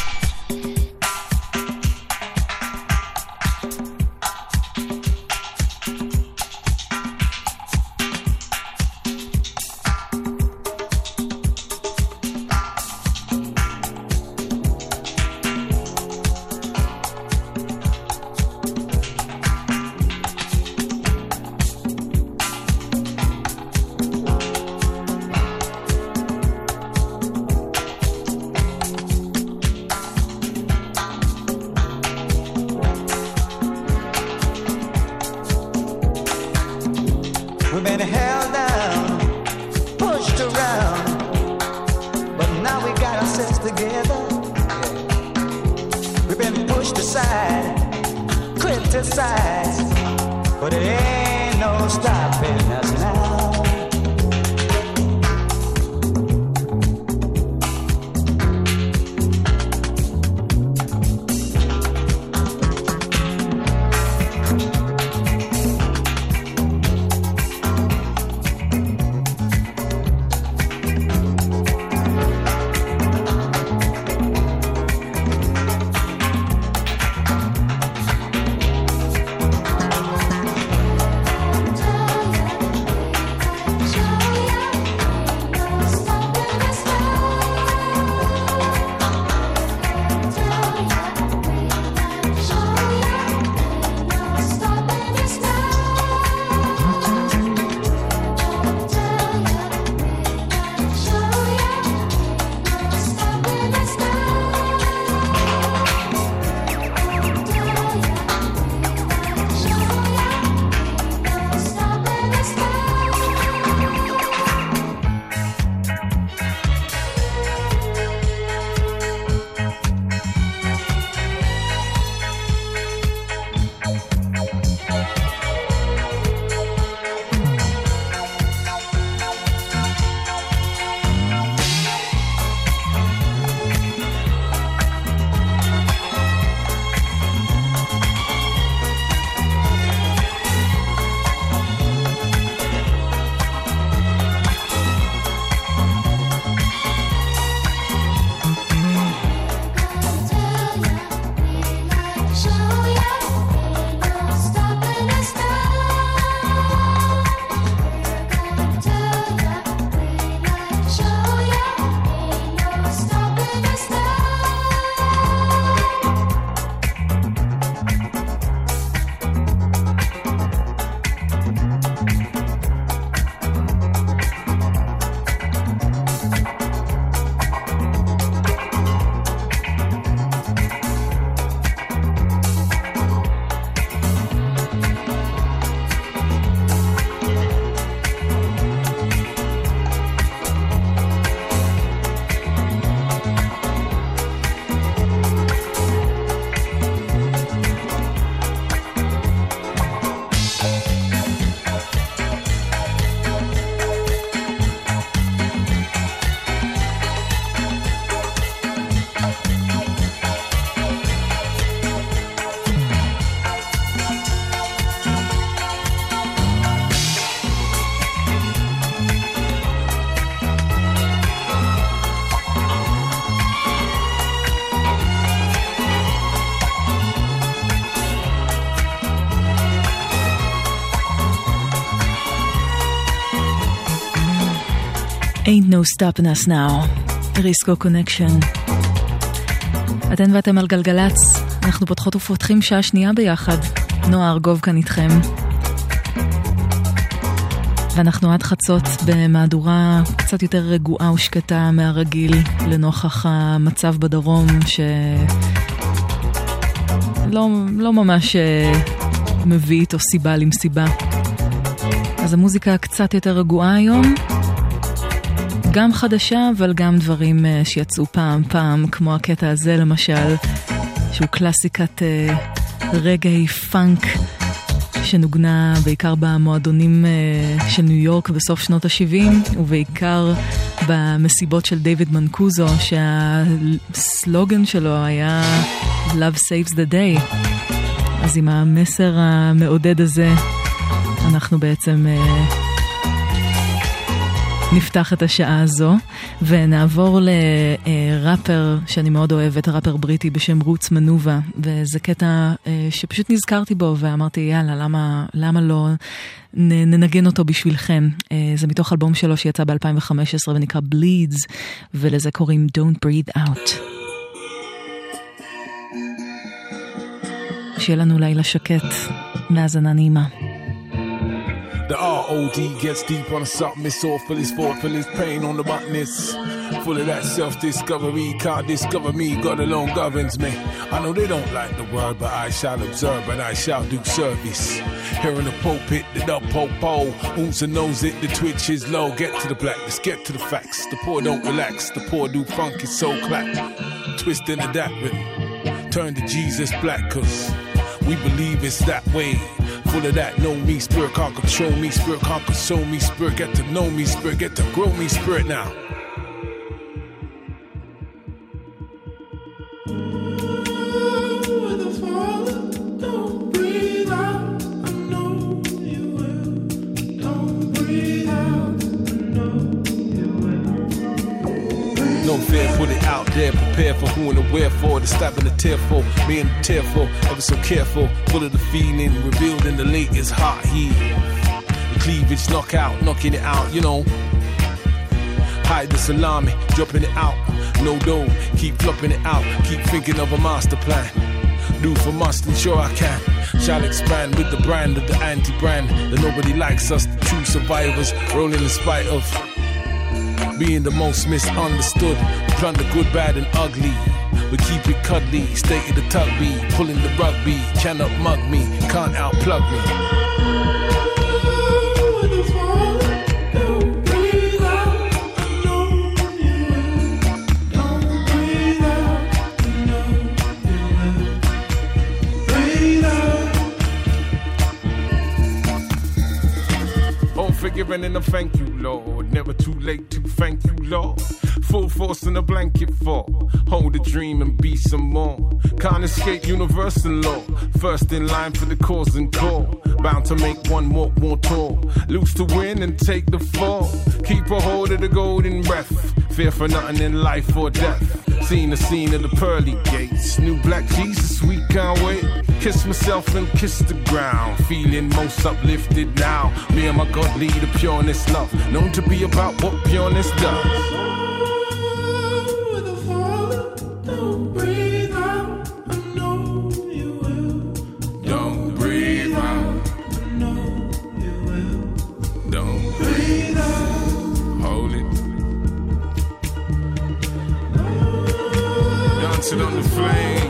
Ain't no stopping us now, ריסקו קונקשן. אתן ואתם על גלגלץ, אנחנו פותחות ופותחים שעה שנייה ביחד. נועה ארגוב כאן איתכם. ואנחנו עד חצות במהדורה קצת יותר רגועה ושקטה מהרגיל, לנוכח המצב בדרום שלא לא ממש מביא איתו סיבה למסיבה. אז המוזיקה קצת יותר רגועה היום, גם חדשה אבל גם דברים שיצאו פעם פעם, כמו הקטע הזה למשל, שהוא קלאסיקת רגעי פאנק שנוגנה בעיקר במועדונים של ניו יורק בסוף שנות ה-שבעים, ובעיקר במסיבות של דיוויד מנקוזו, שהסלוגן שלו היה Love Saves the Day. אז עם המסר המעודד הזה אנחנו בעצם נפתח את השעה הזו ונעבור לראפר שאני מאוד אוהבת, ראפר בריטי בשם רוץ מנובה, וזה קטע שפשוט נזכרתי בו ואמרתי יאללה, למה, למה לא ננגן אותו בשבילכם. זה מתוך אלבום שלו שיצא ב-אלפיים וחמש עשרה ונקרא Bleeds, ולזה קוראים Don't Breathe Out. שיהיה לנו לילה שקט, מהזנה נעימה. The R O D gets deep on something, it's all for his fault, for his pain on the buttoness. Full of that self-discovery, can't discover me, God alone governs me. I know they don't like the word, but I shall observe and I shall do service. Here in the pulpit, the dub po-po, Oomsa knows it, the twitch is low. Get to the blackness, get to the facts. The poor don't relax, the poor do funky soul clap. Twist into that rhythm, turn to Jesus black, cause we believe it's that way. Full of that, know me, spirit can't control me, spirit can't console me, spirit get to know me, spirit get to grow me, spirit now. No fear, put it out there, prepare for who and the wherefore, the stabbing the tearful, me and the tearful, ever so careful, full of the feeling, revealed in the latest hot heat. The cleavage knock out, knocking it out, you know. Hide the salami, dropping it out, no dough, keep flopping it out, keep thinking of a master plan. Do for must, ensure I can. Shall expand with the brand of the anti-brand, that nobody likes us, the true survivors, rolling in spite of being the most misunderstood. We plunder good, bad and ugly. We keep it cuddly, stay in the tugby, pulling the rugby. Cannot mug me, can't outplug me. Forgiven and a thank you, Lord. Never too late to thank you, Lord. Full force in a blanket for hold a dream and be some more. Can't escape universal law. First in line for the cause and call. Bound to make one walk more tall. Lose to win and take the fall. Keep a hold of the golden breath. Fear for nothing in life or death. Seen the scene of the pearly gates. New black Jesus, we can't wait. Kiss myself and kiss the ground. Feeling most uplifted now. Me and my God lead a pureness love. Known to be about what pureness does. Don't breathe out. I know you will. Don't breathe out. I know you will. Don't breathe out. Hold it. Dancing on the flame.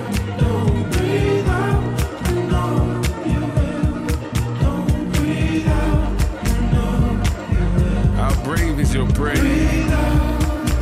Brave is your brain.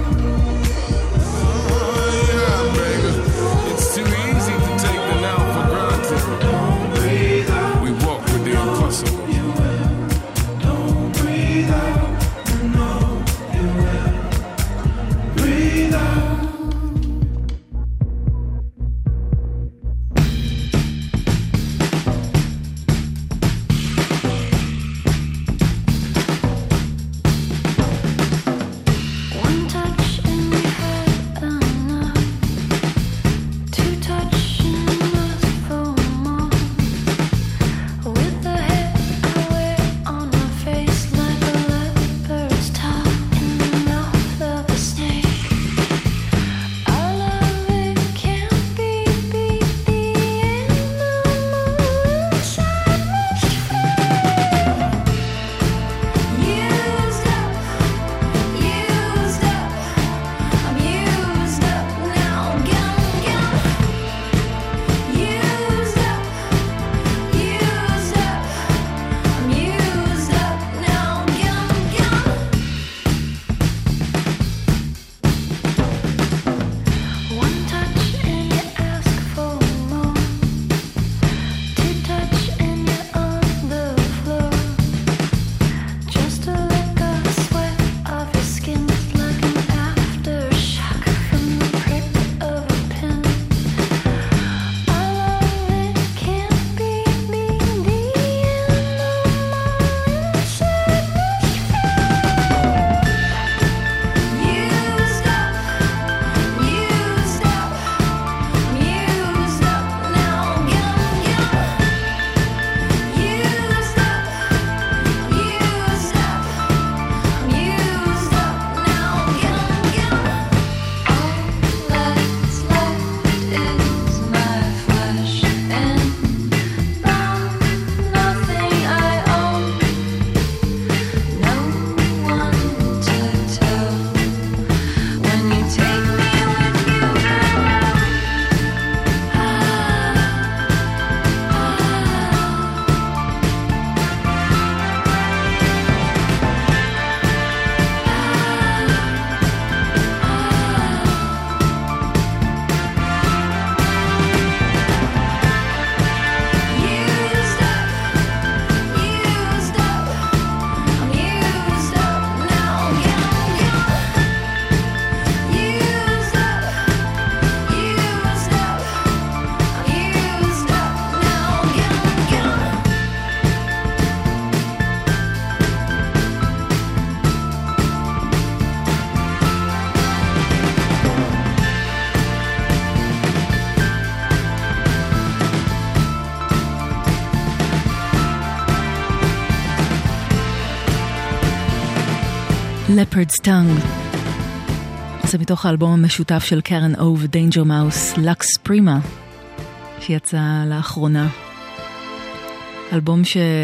Leopard's Tongue. זה מתוך האלבום המשותף של קרן או ודיינג'ר מאוס, לקס פרימה, שיצא לאחרונה. אלבום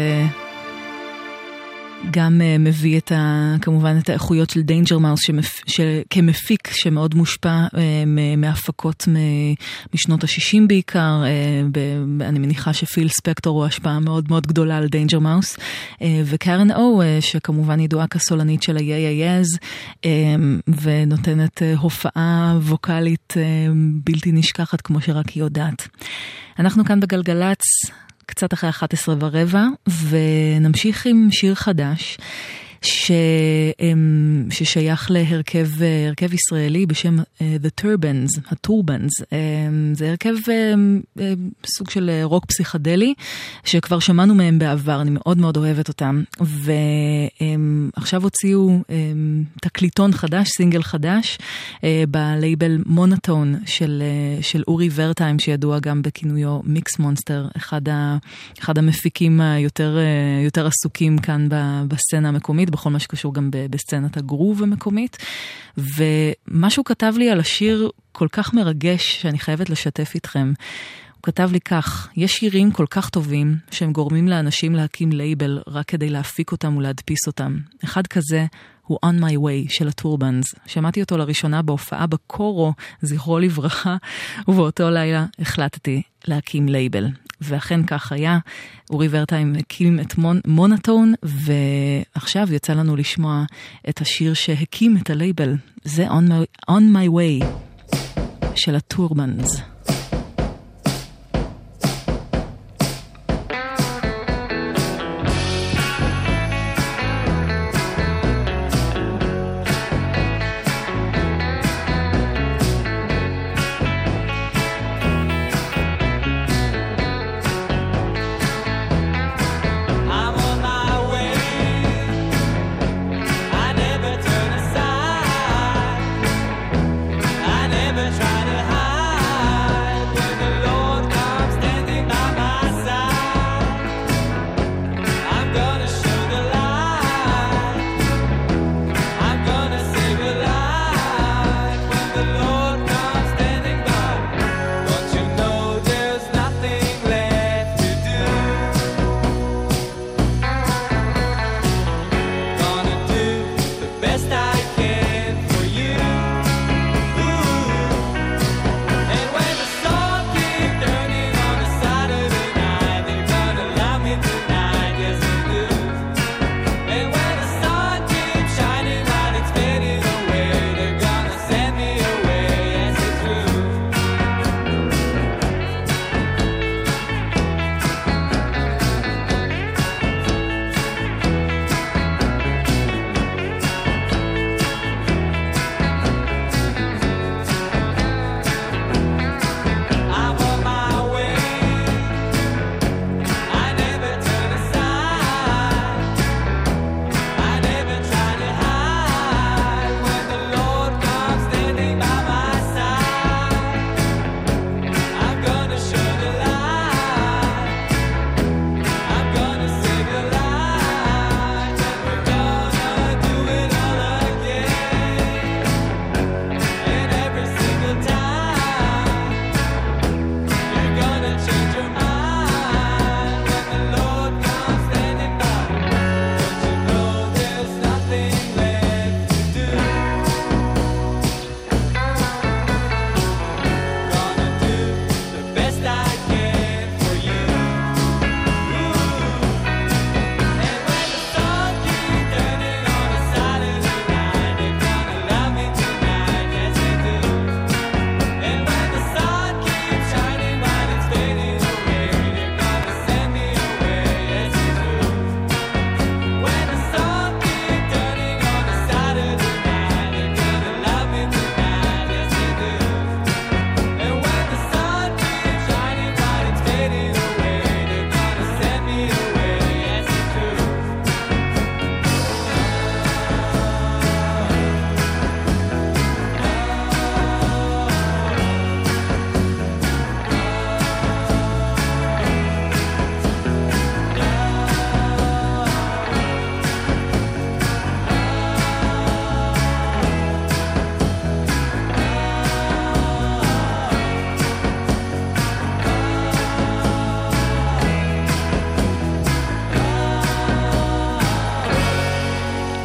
שגם מביא את ה, כמובן את האיכויות של דיינג'ר מאוס כמפיק שמאוד מושפע מהפקות משנות ה-שישים בעיקר. אני מניחה שפיל ספקטור הוא השפעה מאוד מאוד גדולה על דיינג'ר מאוס, וקרן או שכמובן ידועה כסולנית של ה-יי-איי-אז ונותנת הופעה ווקלית בלתי נשכחת כמו שרק היא יודעת. אנחנו כאן בגלגלץ קצת אחרי אחת עשרה ורבע, ונמשיך עם שיר חדש, ש... ששייך להרכב הרכב ישראלי בשם The Turbans, הטורבנס. זה הרכב סוג של רוק פסיכדלי, שכבר שמענו מהם בעבר, אני מאוד מאוד אוהבת אותם, ועכשיו הוציאו תקליטון חדש, סינגל חדש, בלייבל מונוטון של, של אורי ורטיים, שידוע גם בכינויו מיקס מונסטר, אחד, ה... אחד המפיקים היותר יותר עסוקים כאן בסצנה המקומית, בכל מה שקשור גם בסצנת הגרוב המקומית, ומשהו כתב לי על השיר כל כך מרגש שאני חייבת לשתף איתכם. הוא כתב לי כך: יש שירים כל כך טובים שהם גורמים לאנשים להקים לייבל רק כדי להפיק אותם ולהדפיס אותם. אחד כזה הוא On My Way של הטורבנס. שמעתי אותו לראשונה בהופעה בקורו, זכרו לברכה, ובאותו לילה החלטתי להקים לייבל. ואכן כך היה, אורי ורטיים הקים את מונ... מונוטון, ועכשיו יצא לנו לשמוע את השיר שהקים את הלייבל. זה On My, On My Way של הטורבנס. Try to hide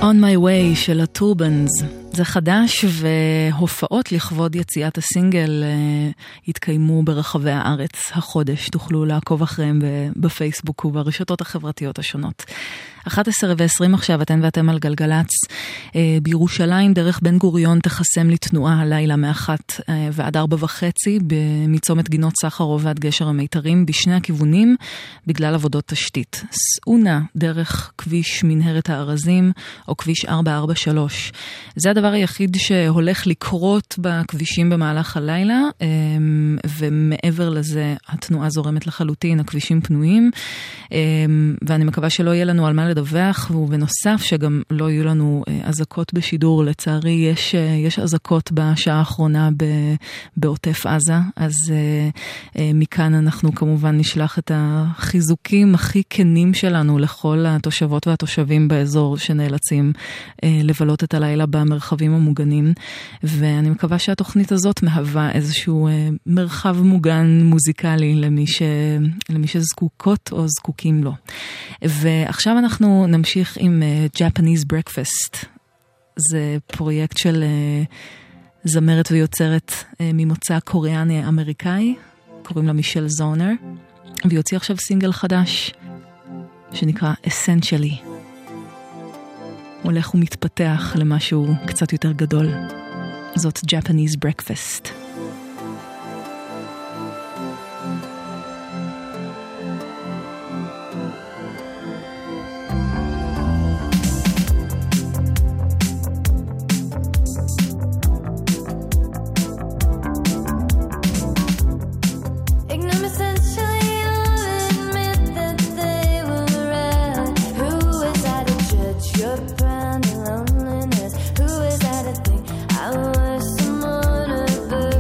On My Way של הטורבנס. זה חדש, והופעות לכבוד יציאת הסינגל התקיימו ברחבי הארץ החודש. תוכלו לעקוב אחריהם בפייסבוק וברשתות החברתיות השונות. אחת עשרה ועשרים עכשיו, אתן ואתם על גלגלץ. בירושלים דרך בן גוריון תחסם לתנועה הלילה מאחת ועד ארבע וחצי, מצומת גינות סחרוב ועד גשר המיתרים, בשני הכיוונים, בגלל עבודות תשתית. סעונה דרך כביש מנהרת הארזים, או כביש ארבע ארבע שלוש. זה הדבר היחיד שהולך לקרות בכבישים במהלך הלילה, ומעבר לזה התנועה זורמת לחלוטין, הכבישים פנויים, ואני מקווה שלא יהיה לנו על מה לדווח, ובנוסף שגם לא יהיו לנו אזעקות בשידור. לצערי יש, יש אזעקות בשעה האחרונה בעוטף עזה, אז מכאן אנחנו כמובן נשלח את החיזוקים הכי כנים שלנו לכל התושבות והתושבים באזור שנאלצים לבלות את הלילה במרחבים המוגנים, ואני מקווה שהתוכנית הזאת מהווה איזשהו מרחב מוגן מוזיקלי למי, ש... למי שזקוקות או זקוקים לו. ועכשיו אנחנו נמשיך עם Japanese Breakfast. זה פרויקט של זמרת ויוצרת ממוצא קוריאני אמריקאי, קוראים לה מישל זונר, והיא הוציאה עכשיו סינגל חדש שנקרא Essentially. הולך ומתפתח למשהו קצת יותר גדול. זאת Japanese Breakfast. Brand loneliness. Who is that a thing? I was someone above.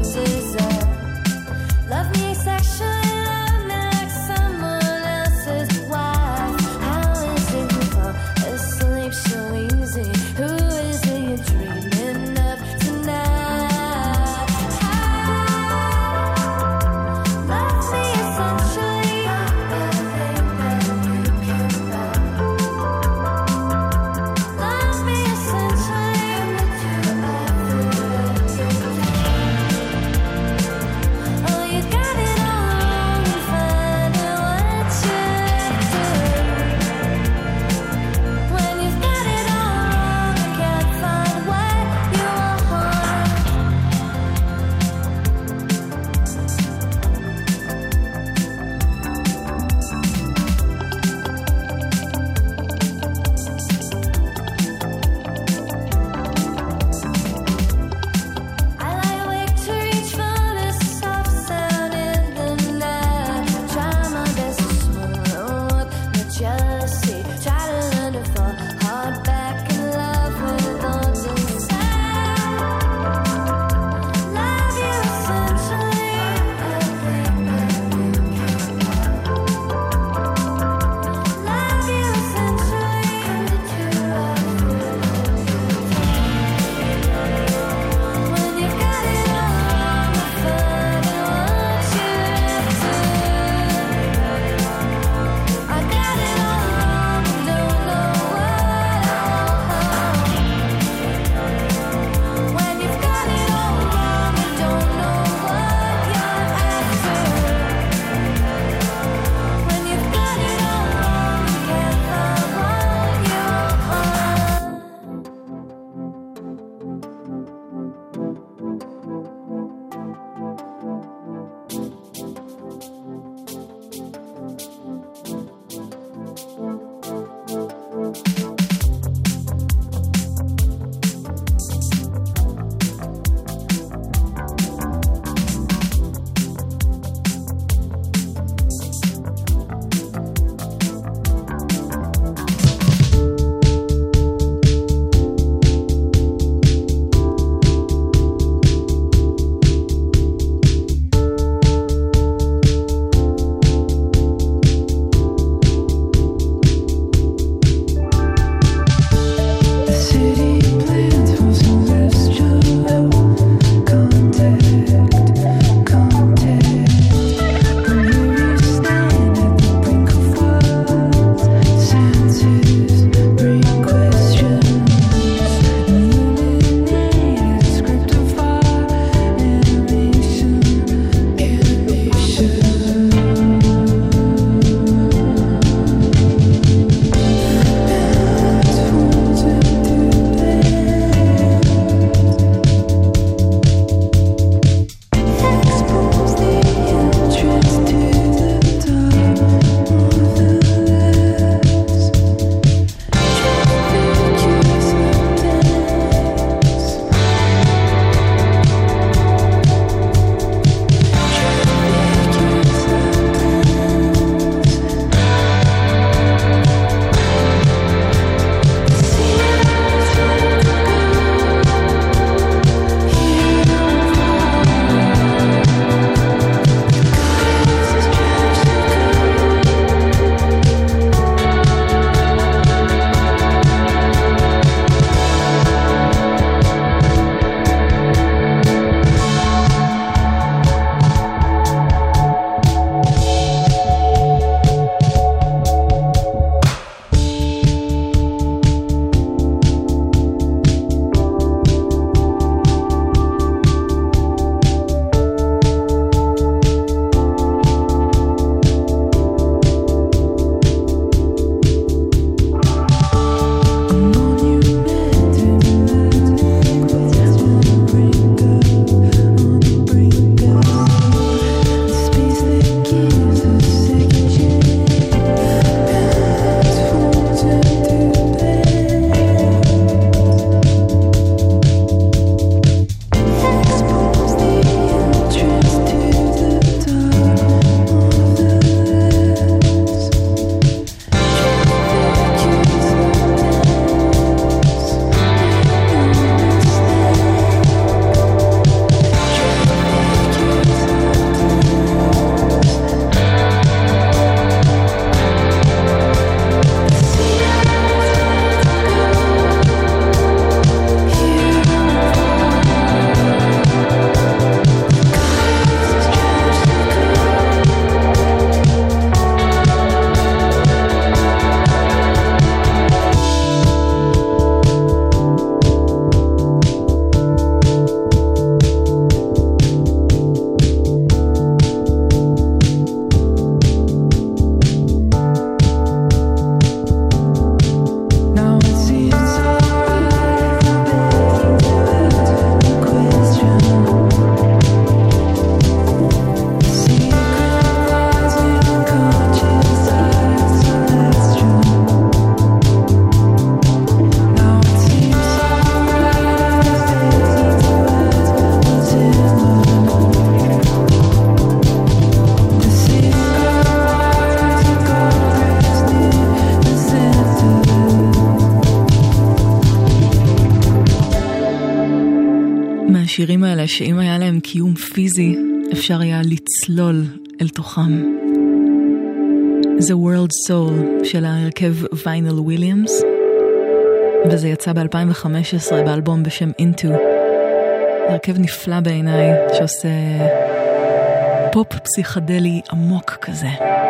השירים האלה שאם היה להם קיום פיזי אפשר היה לצלול אל תוכם. The World Soul של ההרכב ויינל וויליאמס, וזה יצא ב-אלפיים וחמש עשרה באלבום בשם Into. הרכב נפלא בעיניי שעושה פופ פסיכדלי עמוק כזה.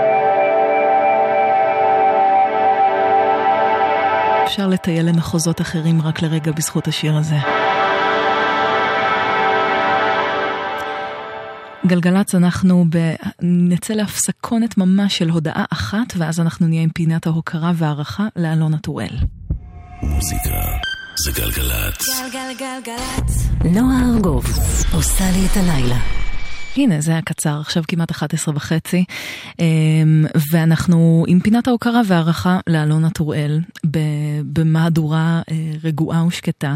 אפשר לטייל למחוזות אחרים רק לרגע בזכות השיר הזה. גלגלץ, אנחנו ב... נצא להפסקונת ממש של הודעה אחת, ואז אנחנו נהיה עם פינת ההוקרה והערכה לאלונה טוראל. מוזיקה זה גלגלץ. גלגלגלגלץ. נועה ארגוב עושה לי את הלילה. הנה, זה היה קצר, עכשיו כמעט אחת עשרה וחצי, ואנחנו עם פינת ההוקרה והערכה לאלונה טוראל, במהדורה רגועה ושקטה,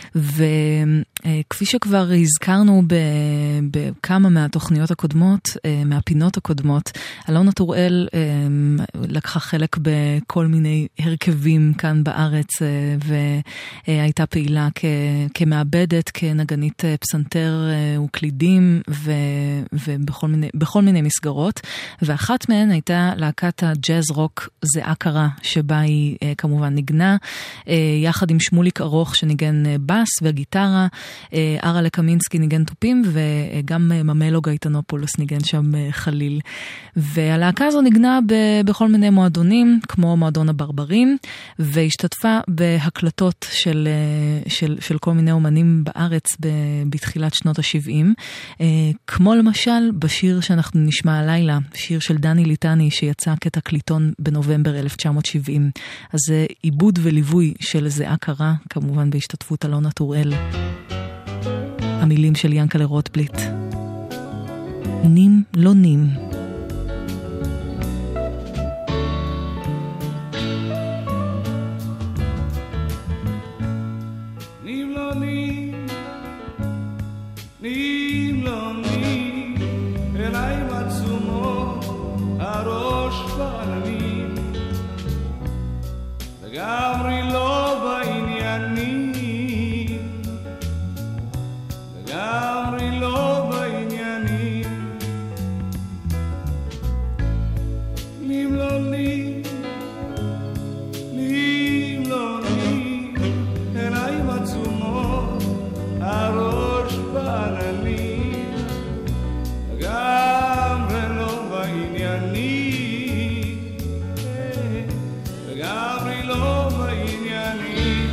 וכפי שכבר הזכרנו בכמה מהתוכניות הקודמות, מהפינות הקודמות, אלונה טוראל לקחה חלק בכל מיני הרכבים כאן בארץ, והייתה פעילה כמעבדת, כנגנית פסנתר וקלידים, ו... ובכל מיני, בכל מיני מסגרות, ואחת מהן הייתה להקת הג'אז רוק זהה קרה, שבה היא כמובן נגנה, יחד עם שמוליק ארוך שניגן בס וגיטרה, ארה לקמינסקי ניגן טופים, וגם ממלו גייטנופולוס ניגן שם חליל. והלהקה הזו נגנה ב- בכל מיני מועדונים, כמו מועדון הברברים, והשתתפה בהקלטות של, של, של כל מיני אומנים בארץ ב- בתחילת שנות ה-שבעים, כמו למשל בשיר שאנחנו נשמע הלילה, שיר של דני ליטני שיצא כתקליטון בנובמבר אלף תשע מאות שבעים. אז זה עיבוד וליווי של זהה קרה, כמובן בהשתתפות אלונה טוראל. המילים של ינקלה רוטבליט. נים לא נים. נים לא נים, נים לא נים, עיניים עצומות, הראש בעננים, לגמרי לא בעניינים, לגמרי לא בעניינים. נים לא נים, נים לא נים, עיניים עצומות, הראש בעננים, לגמרי לא בעניינים, לגמרי לא בעניינים.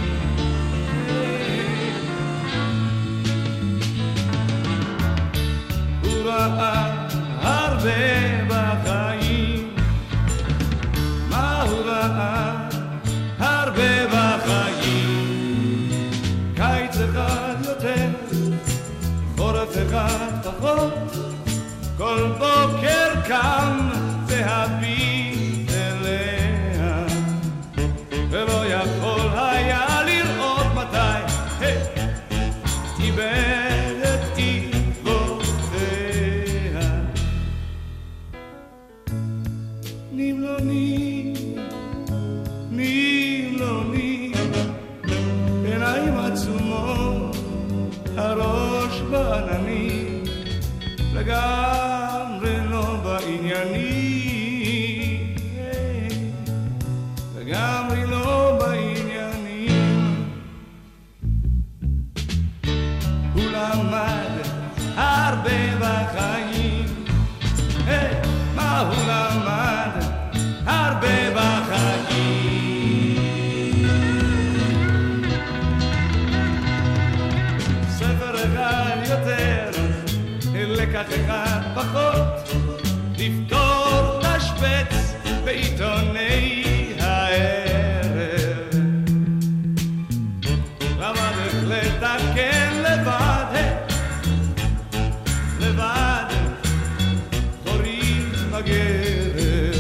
הוא ראה הרבה בחיים, מה הוא ראה הרבה בחיים, קיץ אחד יותר, חורף אחד פחות, כל בוקר קם והביט אליה, ולא יכול היה לראות מתי איבד את עקבותיה. נים לא נים, נים לא נים, עיניים עצומות, הראש בעננים, לגמרי לא בעניינים, לגמרי לא בעניינים. הוא למד הרבה בחיים, מה הוא למד הרבה בחיים. ספר אחד יותר, לקח אחד פחות, לפתור תשבץ בעיתוני הערב, למד איך לתקן לבד, לבד חורים בגרב.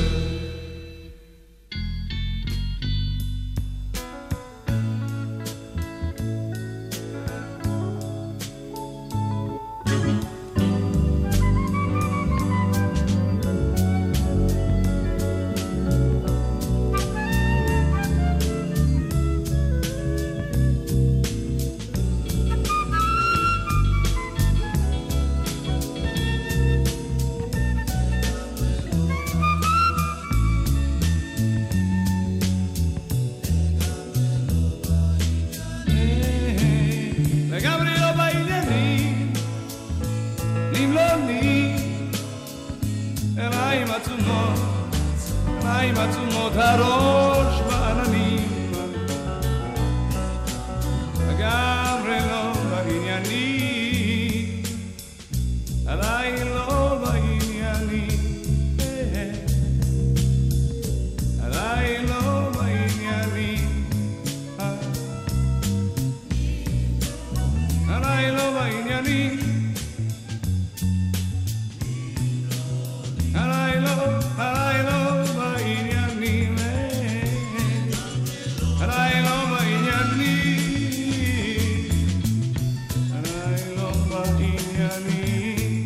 עיניים עצומות, עיניים עצומות, הראש בעננים, לגמרי לא בעניינים, עליי לא בעניינים, עליי לא בעניינים, עליי לא בעניינים, עליי לא, עליי לא בעניינים, עליי לא בעניינים, עליי לא בעניינים,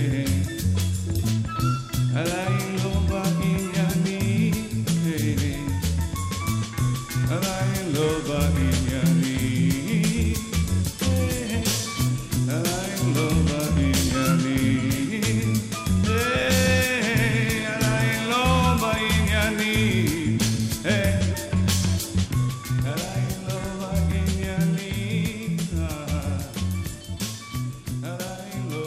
עליי לא בעניינים, עליי לא בעניינים, עליי לא בעניינים, עליי לא בעניינים, עליי לא בעניינים, עליי לא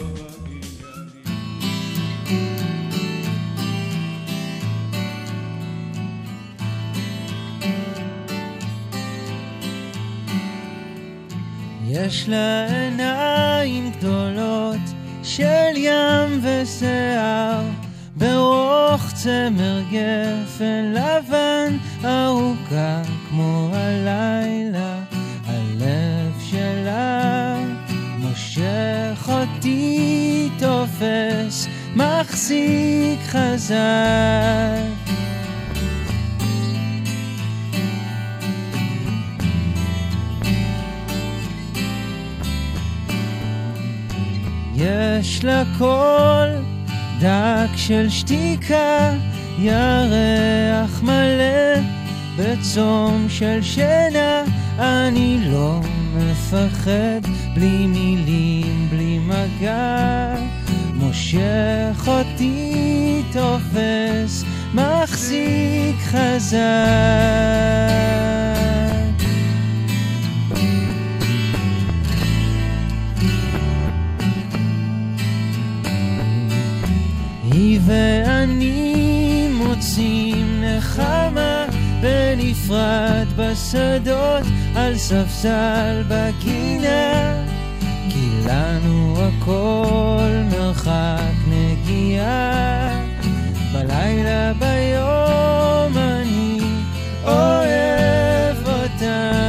יש לה עיניים גדולות של ים ושיער, ברוח צמר גפן לבן ארוכה כמו הלילה, הלב שלה מושך אותי, תופס מחזיק חזק. יש לה קול דק של שתיקה, ירח מלא בצום של שינה, אני לא מפחד, בלי מילים, בלי מגע, מושך אותי, תופס מחזיק חזק. היא ואני מוצאים נחמה בנפרד בשדות, על ספסל בגינה, כי לנו הכל מרחק נגיעה, בלילה ביום אני אוהב אותה.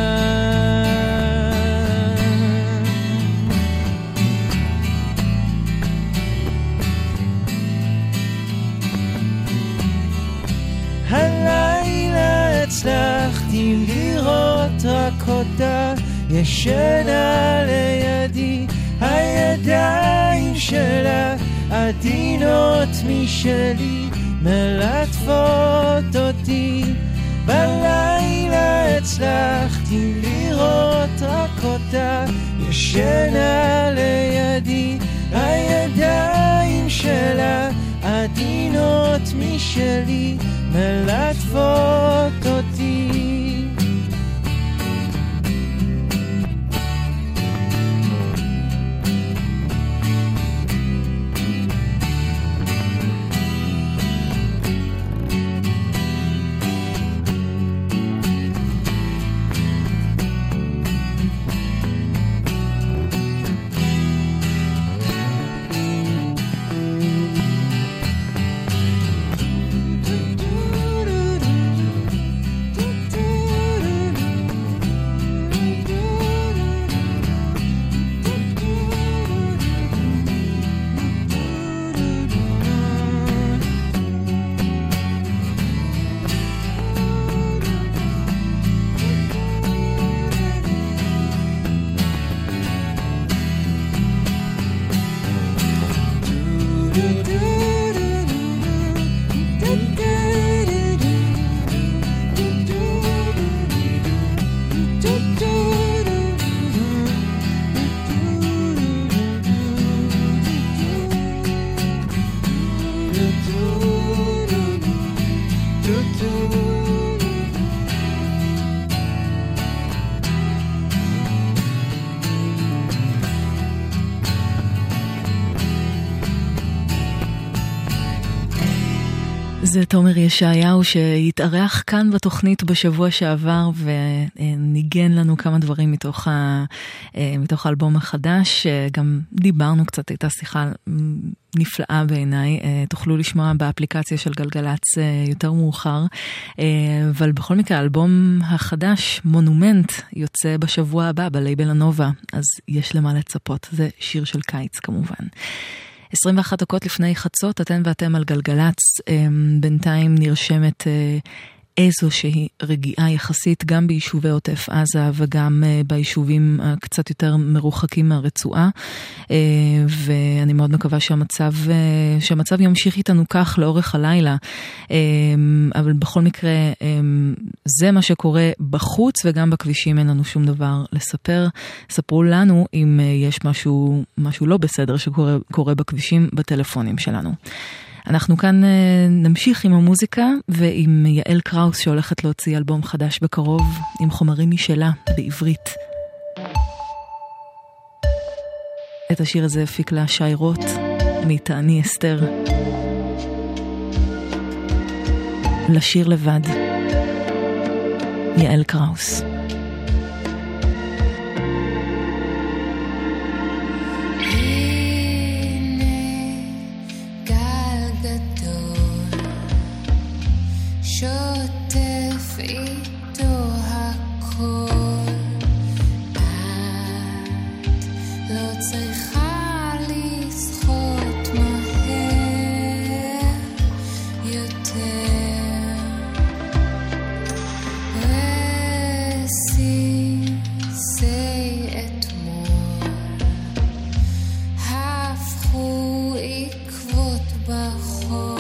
הלילה הצלחתי לראות רק אותה, ישנה לידי, הידיים שלה עדינות משלי, מלטפות אותי. בלילה הצלחתי לראות רק אותה, ישנה לידי, הידיים שלה עדינות משלי, מלטפות אותי. זה תומר ישעיהו שהתארח כאן בתוכנית בשבוע שעבר וניגן לנו כמה דברים מתוך, ה, מתוך האלבום החדש. גם דיברנו קצת, הייתה שיחה נפלאה בעיניי. תוכלו לשמוע באפליקציה של גלגלץ יותר מאוחר. אבל בכל מקרה, האלבום החדש, מונומנט, יוצא בשבוע הבא בלייבל הנובה. אז יש למה לצפות. זה שיר של קיץ כמובן. עשרים ואחת דקות לפני חצות, אתן ואתם על גלגלץ, בינתיים נרשמת איזושהי רגיעה יחסית, גם ביישובי עוטף עזה וגם ביישובים קצת יותר מרוחקים מהרצועה, ואני מאוד מקווה שהמצב, שהמצב ימשיך איתנו כך לאורך הלילה, אבל בכל מקרה זה מה שקורה בחוץ, וגם בכבישים אין לנו שום דבר לספר. ספרו לנו אם יש משהו, משהו לא בסדר שקורה קורה בכבישים בטלפונים שלנו. אנחנו כאן נמשיך עם המוזיקה ועם יעל קראוס שהולכת להוציא אלבום חדש בקרוב עם חומרים משלה בעברית. את השיר הזה הפיק לה שי רוט מתעני אסתר. לשיר לבד, יעל קראוס. שוטף איתו הכל, את לא צריכה לשחות מהר יותר, רסיסי אתמול הפכו עקבות בחול,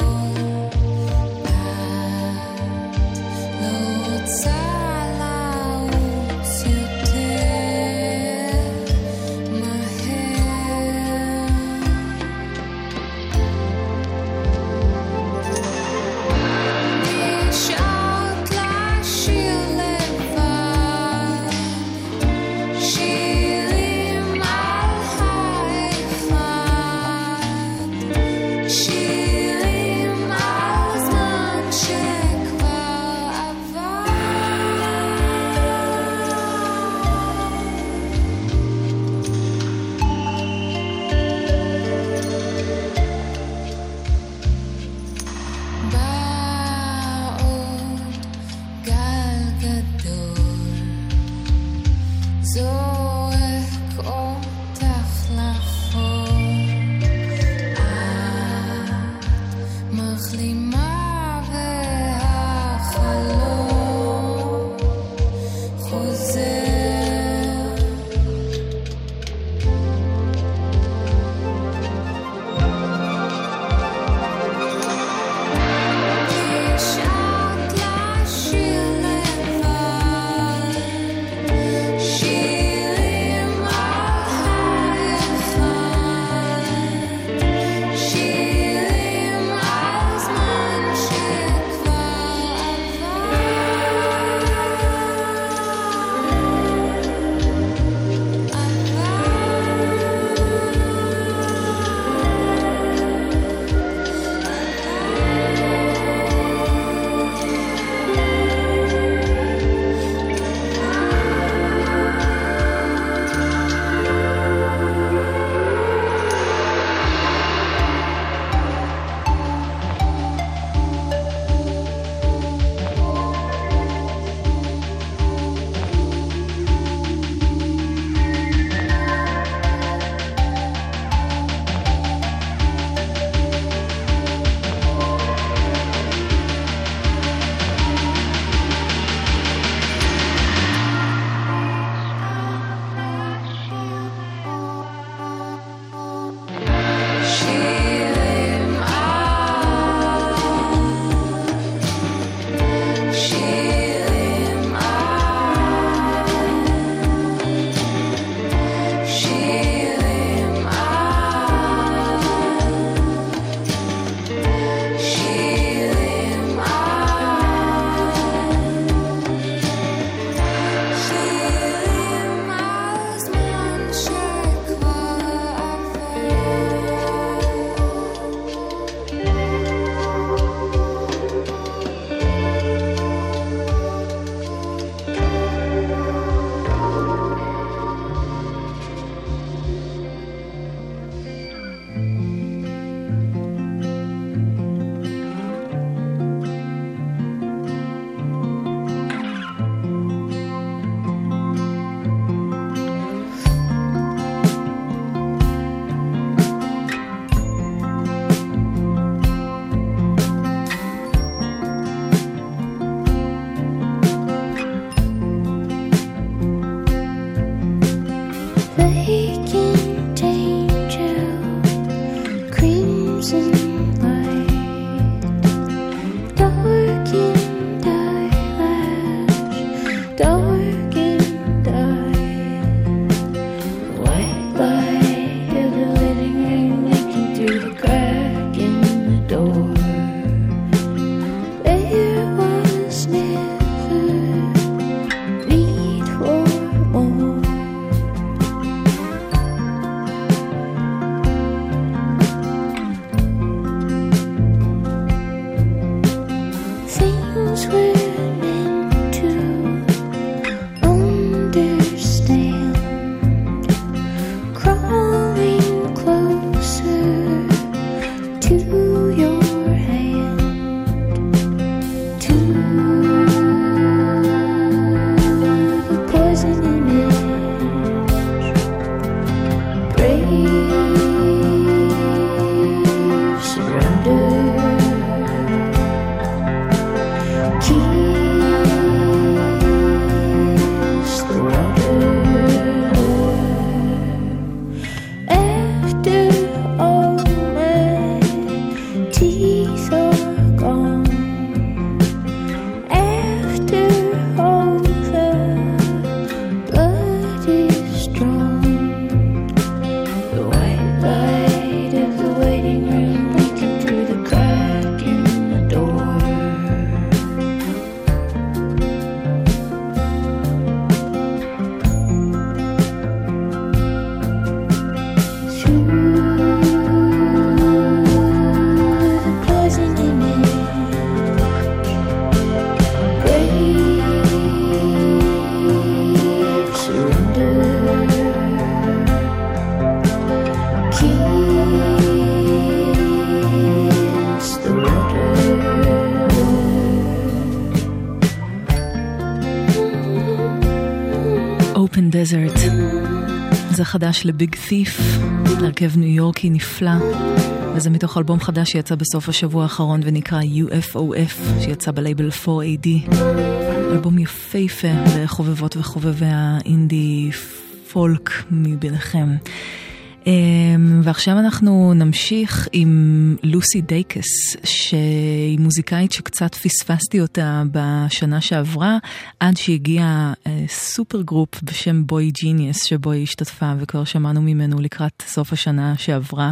Desert. זה חדש לביג תיף, הרכב ניו יורקי נפלא, וזה מתוך אלבום חדש שיצא בסוף השבוע האחרון ונקרא יו אף או אף, שיצא בלייבל פור איי די. אלבום יפהפה לחובבות וחובבי האינדי פולק מביניכם. ועכשיו אנחנו נמשיך עם לוסי דייקס, שהיא מוזיקאית שקצת פספסתי אותה בשנה שעברה, עד שהגיע סופר גרופ בשם בוי ג'יניוס, שבו היא השתתפה וכבר שמענו ממנו לקראת סוף השנה שעברה.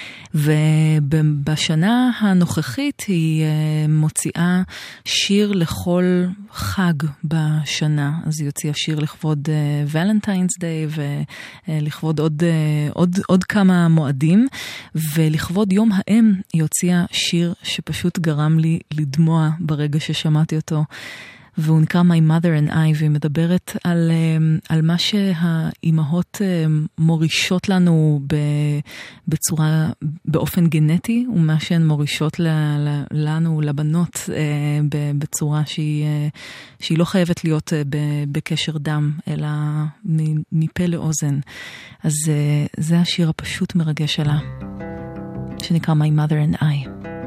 ובשנה הנוכחית היא מוציאה שיר לכל חג בשנה. אז היא הוציאה שיר לכבוד ולנטיינס דיי ולכבוד עוד, עוד, עוד כמה מועדים. ולכבוד יום האם היא הוציאה שיר שפשוט גרם לי לדמוע ברגע ששמעתי אותו. והוא נקרא My Mother and I, והיא מדברת על, על מה שהאימהות מורישות לנו בצורה, באופן גנטי, ומה שהן מורישות לנו, לבנות, בצורה שהיא, שהיא לא חייבת להיות בקשר דם, אלא מפה לאוזן. אז זה השיר הפשוט מרגש שלה, שנקרא My Mother and I.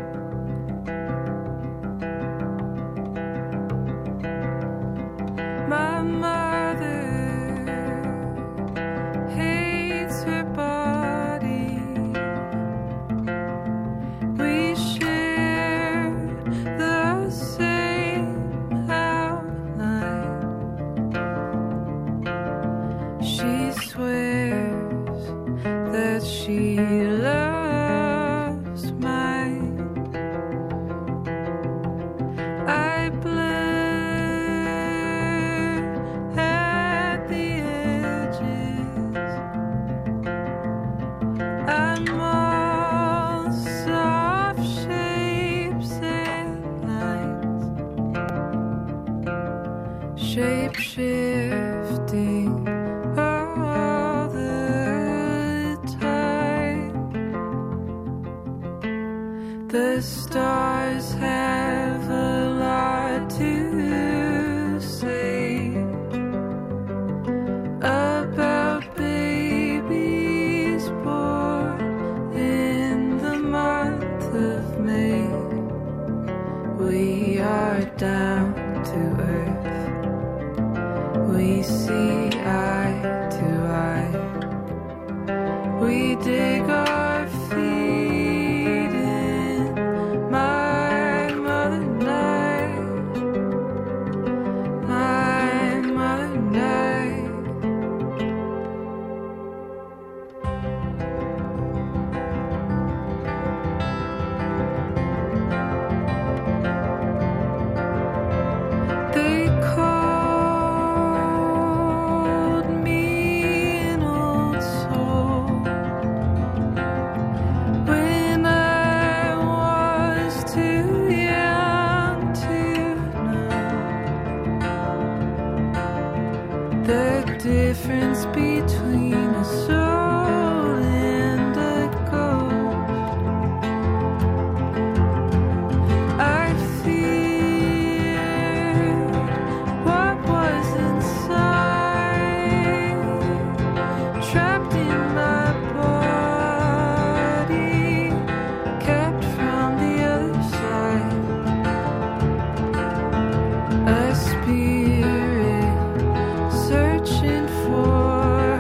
My mother hates her body. We share the same outline. She swears that she loves mine. I blame shape-shifting all the time. The stars have a lot to say about babies born in the month of May. We are down to earth. We see eye to eye. We dig our feet in. My mother and I. My mother and I. They call difference between a soul and a ghost. I feel what was inside, trapped in my body, kept from the other side. A spirit searching for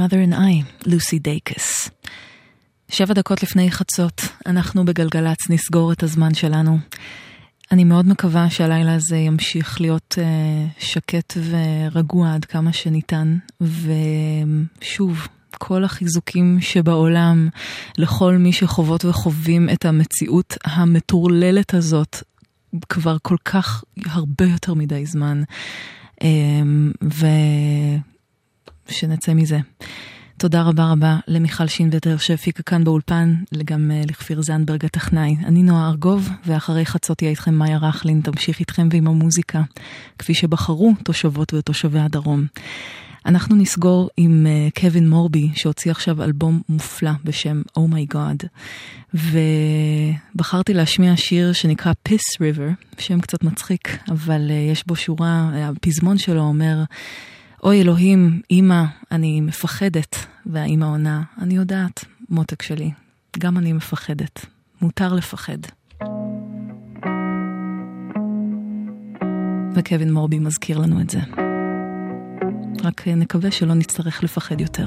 Mother and I, לוסי דייקס. שבע דקות לפני חצות, אנחנו בגלגלץ נסגור את הזמן שלנו. אני מאוד מקווה שהלילה הזה ימשיך להיות uh, שקט ורגוע עד כמה שניתן, ושוב, כל החיזוקים שבעולם לכל מי שחוות וחווים את המציאות המטורללת הזאת כבר כל כך הרבה יותר מדי זמן, um, ושנצא מזה. תודה רבה רבה למיכל שינווטר שהפיקה כאן באולפן, גם לכפיר זנברג הטכנאי. אני נועה ארגוב, ואחרי חצות תהיה איתכם מאיה רחלין, תמשיך איתכם ועם המוזיקה, כפי שבחרו תושבות ותושבי הדרום. אנחנו נסגור עם קווין מורבי, שהוציא עכשיו אלבום מופלא בשם Oh My God, ובחרתי להשמיע שיר שנקרא Piss River, שם קצת מצחיק, אבל יש בו שורה, הפזמון שלו אומר, אוי אלוהים, אמא, אני מפחדת, והאמא עונה, אני יודעת, מותק שלי, גם אני מפחדת, מותר לפחד. וקווין מורבי מזכיר לנו את זה. רק נקווה שלא נצטרך לפחד יותר.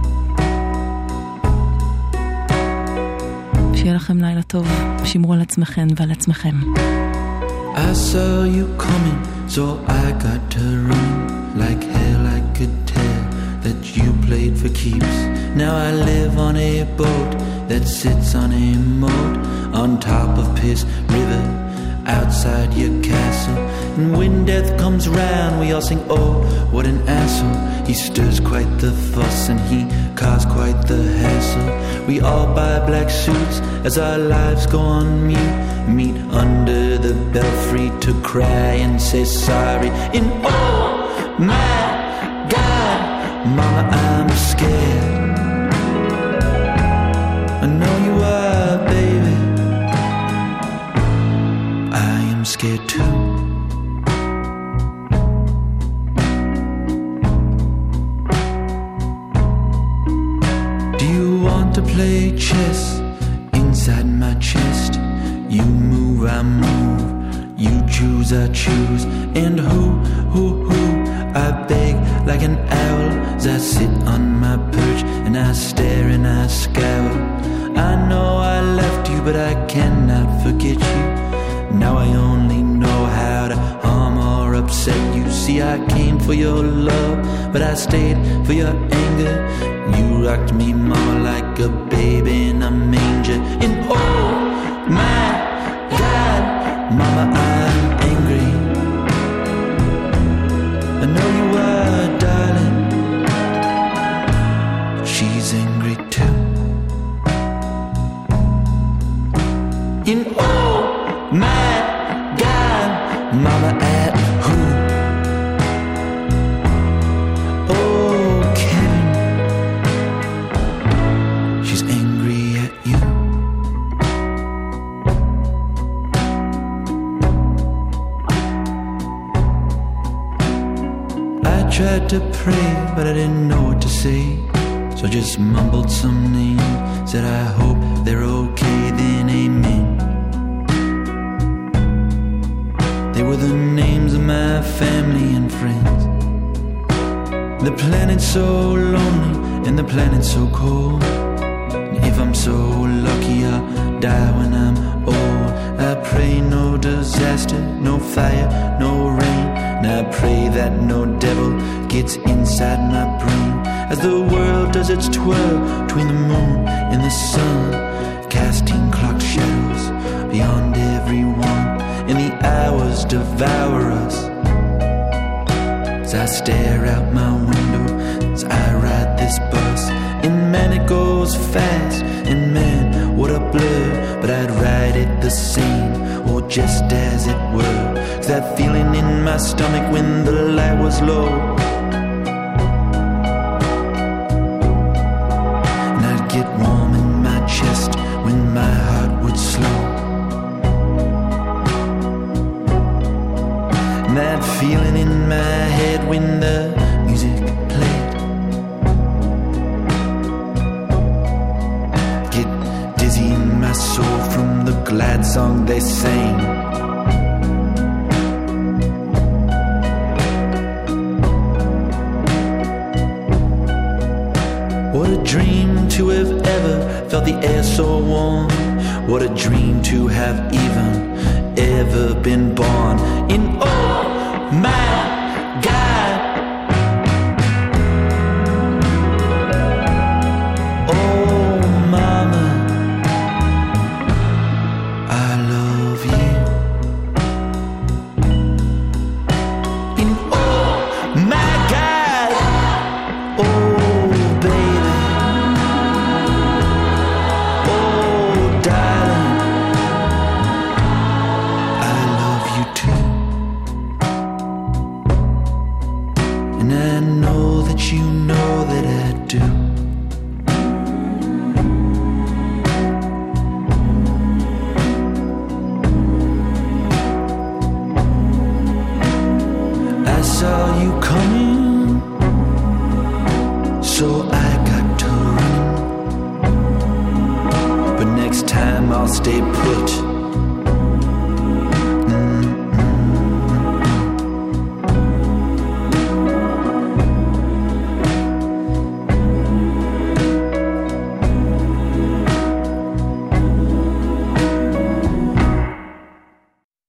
שיהיה לכם לילה טוב, שמרו על עצמכם ועל עצמכם. I saw you coming, so I got to run. Like hell I could tell that you played for keeps. Now I live on a boat that sits on a moat on top of Piss River, outside your castle. And when death comes round we all sing, oh, what an asshole. He stirs quite the fuss and he caused quite the hassle. We all buy black suits as our lives go on mute, meet under the belfry to cry and say sorry. And oh my God, Mama, I'm scared. I know you are, baby. I am scared too. Do you want to play chess inside my chest? You move, I move. You choose, I choose. And who, who, who? I beg like an owl as I sit on my perch and I stare and I scowl. I know I left you, but I cannot forget you. Now I only know how to harm or upset you. See, I came for your love, but I stayed for your anger. You rocked me more like a baby in a manger. And oh my God, Mama, I'm angry. I know you are, darling. She's angry too. And oh my God, Mama, at who? Oh, Kevin, she's angry at you. I tried to pray, but I didn't know what to say, so I just mumbled some names, said I hope they're okay, then amen. They were the names of my family and friends. The planet's so lonely and the planet's so cold. And if I'm so lucky I'll die when I'm old. I pray no disaster, no fire, no rain. And I pray that no devil gets inside my brain, as the world does its twirl between the moon and the sun, casting clock shadows beyond everyone, and the hours devour us. As I stare out my window, as I ride this bus, and man it goes fast, and man what a blur, but I'd ride it the same, or just as it were. Cause that feeling in my stomach when the light was low, and I'd get warm in my chest when my heart would slow. And that feeling in my head when the music played, get dizzy in my soul from the glad song they sang. never felt the air so warm. What a dream to have even ever been born in. Oh my God, oh mama, I love you. In oh my God, oh baby, oh darling, I love you too. And I know that you know that I do. I saw you coming, so I got to run. But next time I'll stay put